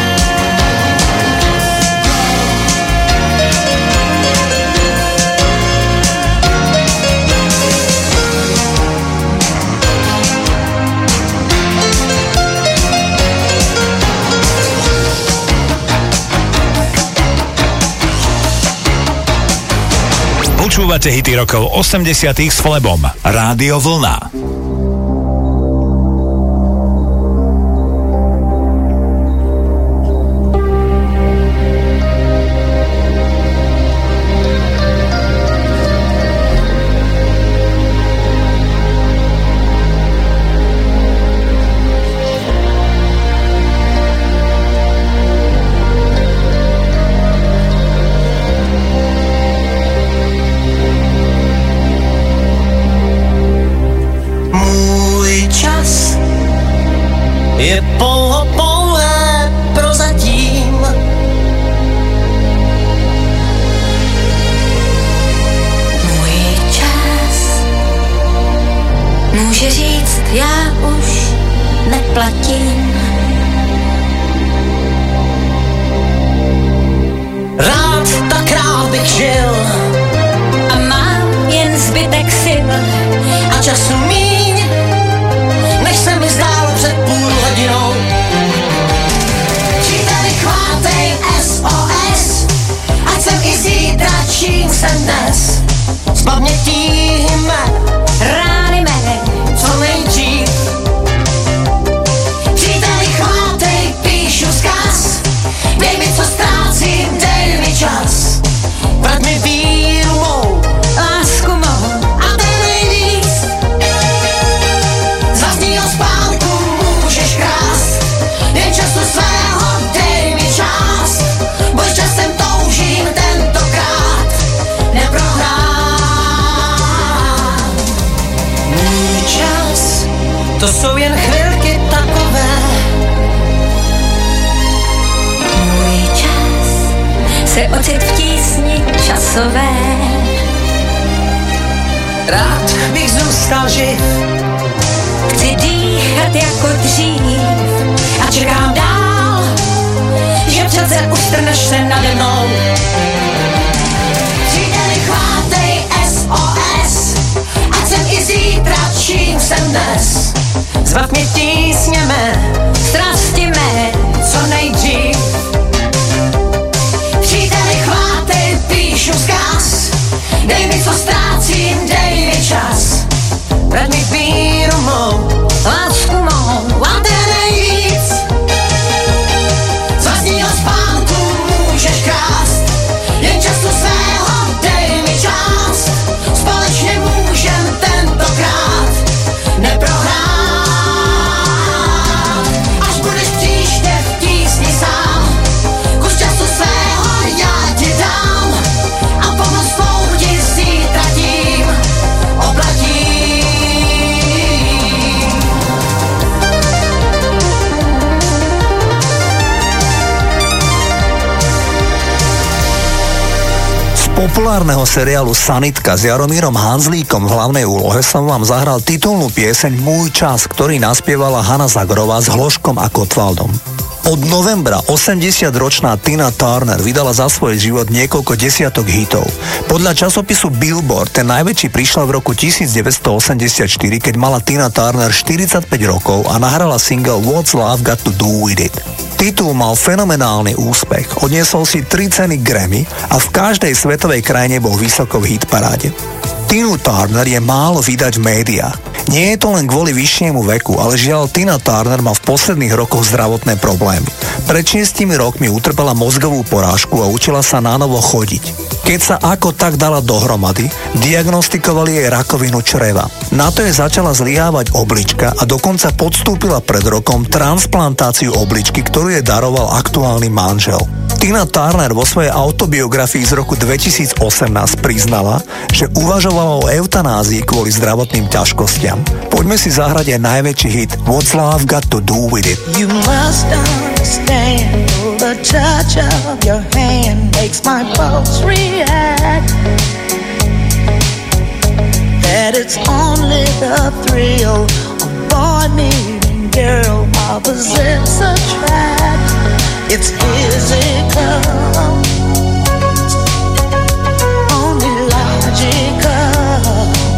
Počúvate hity rokov 80 s Flebom. Rádio Vlna. Můj čas je pouhé prozatím. Můj čas může říct, já už neplatím. Rád tak rád bych žil A mám jen zbytek sil a času míň, než se mi zdálo před půl hodinou. Příteli, chvátej SOS, ať jsem i zítra, čím jsem dnes. Z pamětí rány mé, co nejdřív. Příteli, chvátej, píšu vzkaz, dej mi, co ztrácím, dej mi čas. se ocit v tísni časové. Rád bych zůstal živ, chci dýchat jako dřív a čekám dál, že přece ustrneš se nade mnou. Příteli, chvátej SOS, ať jsem i zítra, čím jsem dnes. Zbav mě tísněme, strasti mé, co nejdřív. Příteli, chvátej, píšu vzkaz, dej mi, co ztrácím, dej mi čas. Vrať mi víru mou, lásku mou, a ten nejvíc. Z vlastního spánku můžeš krást, jen času svého dej mi čas. Společně můžem tentokrát neprohrát. Až budeš příště v tísni sám, kus času svého já ti dám a pomoc svou ti zítra tím oplatím. Populárneho seriálu Sanitka s Jaromírom Hanzlíkom v hlavnej úlohe som vám zahral titulnú pieseň Môj čas, ktorý naspievala Hanna Zagorová s Hloškom a Kotwaldom. Od novembra 80-ročná Tina Turner vydala za svoj život niekoľko desiatok hitov. Podľa časopisu Billboard ten najväčší prišiel v roku 1984, keď mala Tina Turner 45 rokov a nahrala single What's Love Got to Do With It. Titul mal fenomenálny úspech, odniesol si 3 ceny Grammy a v každej svetovej krajine bol vysoko v hitparáde. Tinu Turner je málo vydať v médiách. Nie je to len kvôli vyššiemu veku, ale žiaľ Tina Turner má v posledných rokoch zdravotné problémy. Pred 6 rokmi utrpela mozgovú porážku a učila sa nánovo chodiť. Keď sa ako tak dala dohromady, diagnostikovali jej rakovinu čreva. Na to jej začala zlyhávať oblička a dokonca podstúpila pred rokom transplantáciu obličky, ktorú jej daroval aktuálny manžel. Tina Turner vo svojej autobiografii z roku 2018 priznala, že uvažovala o eutanázii kvôli zdravotným ťažkostiam. Poďme si zahrať aj najväčší hit What's Love Got to Do With It. You must understand, the touch of your hand makes my pulse react. That it's only the thrill of boy meeting girl, opposites attract. It's physical, only logical.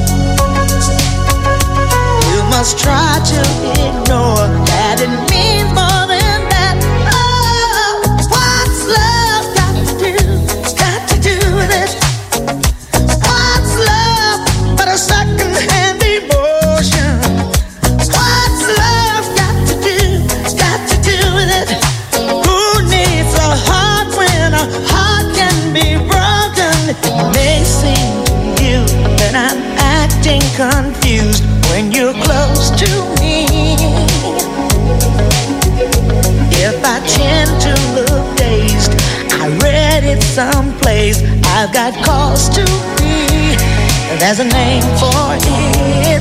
You must try to ignore that it means more than that. Oh, what's love got to do with it? What's love but a second-hand emotion? What's love got to do with it? A heart when a heart can be broken. It may seem to you that I'm acting confused when you're close to me. If I tend to look dazed, I read it someplace. I've got cause to be. There's a name for it.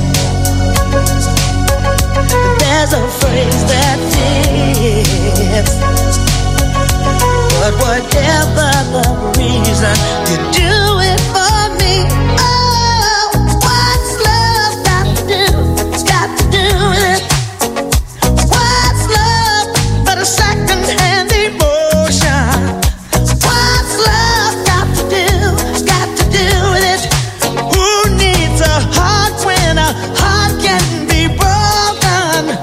There's a phrase that fits. But whatever the reason, you do it for me. Oh, what's love got to do with it? What's love but a second-hand emotion? What's love got to do with it? Who needs a heart when a heart can be broken?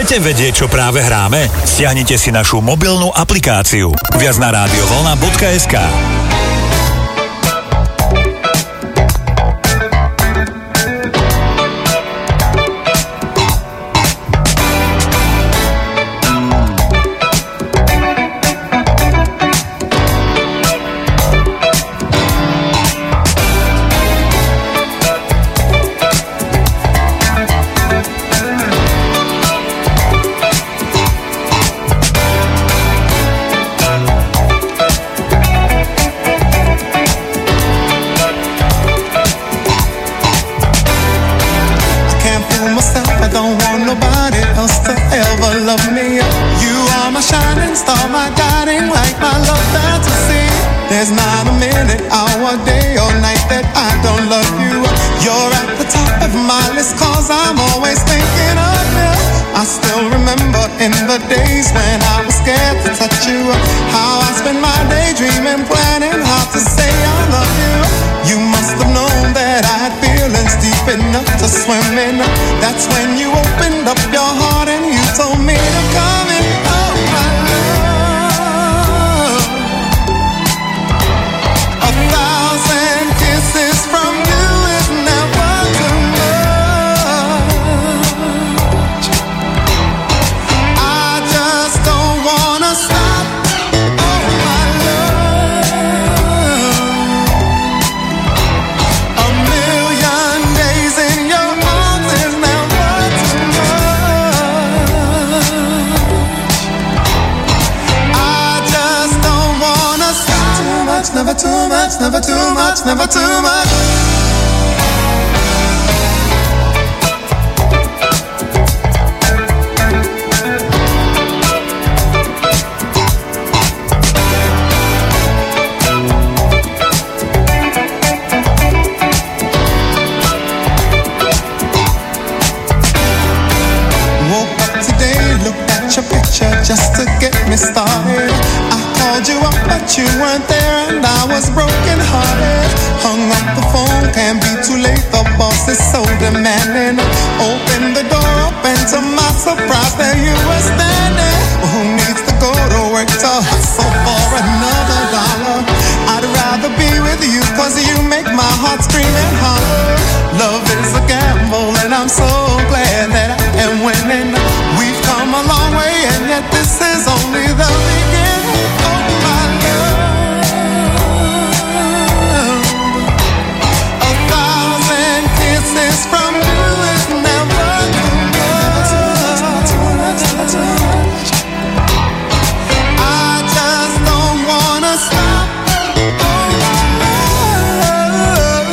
Chcete vedieť, čo práve hráme? Stiahnite si našu mobilnú aplikáciu. Viac na radiovolna.sk. There's not a minute, hour, day or night that I don't love you. You're at the top of my list, cause I'm always thinking of you. I still remember in the days when I was scared to touch you, how I spent my day dreaming, planning how to say I love you. You must have known that I had feelings deep enough to swim in. That's when you opened up your heart and you told me to come in. Oh my love, 1,000 kisses from you is never too much. I just don't wanna stop. Oh my love, 1,000,000 days in your arms is never too much. I just don't wanna stop. Too much, never too much, never too much, never too much. Woke up today, looked at your picture just to get me started. I called you up, but you weren't there, and I was broken hearted. Hung up the phone, can't be too late, the boss is so demanding. Opened the door up, and to my surprise, there you were standing. Who needs to go to work to hustle for another dollar? I'd rather be with you, cause you make my heart scream and holler. Love is a gamble, and I'm so glad that I am winning. We've come a long way, and yet this is only the beginning. Oh my love, 1,000 kisses from you is never too much. I just don't wanna stop. Oh my love,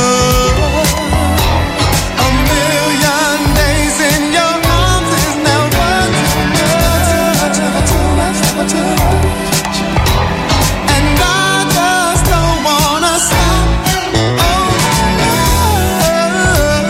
1,000,000 days in your arms is never too much. And I just don't wanna stop. Oh my love,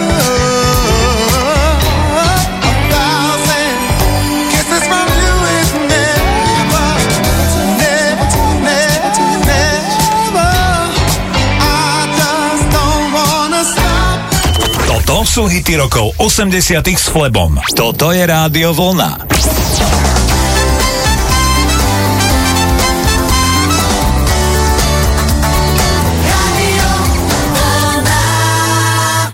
1,000 kisses from you is never, never, never. I just don't wanna stop. Toto sú hity rokov 80 s Flebom. Toto je Rádio Vlna.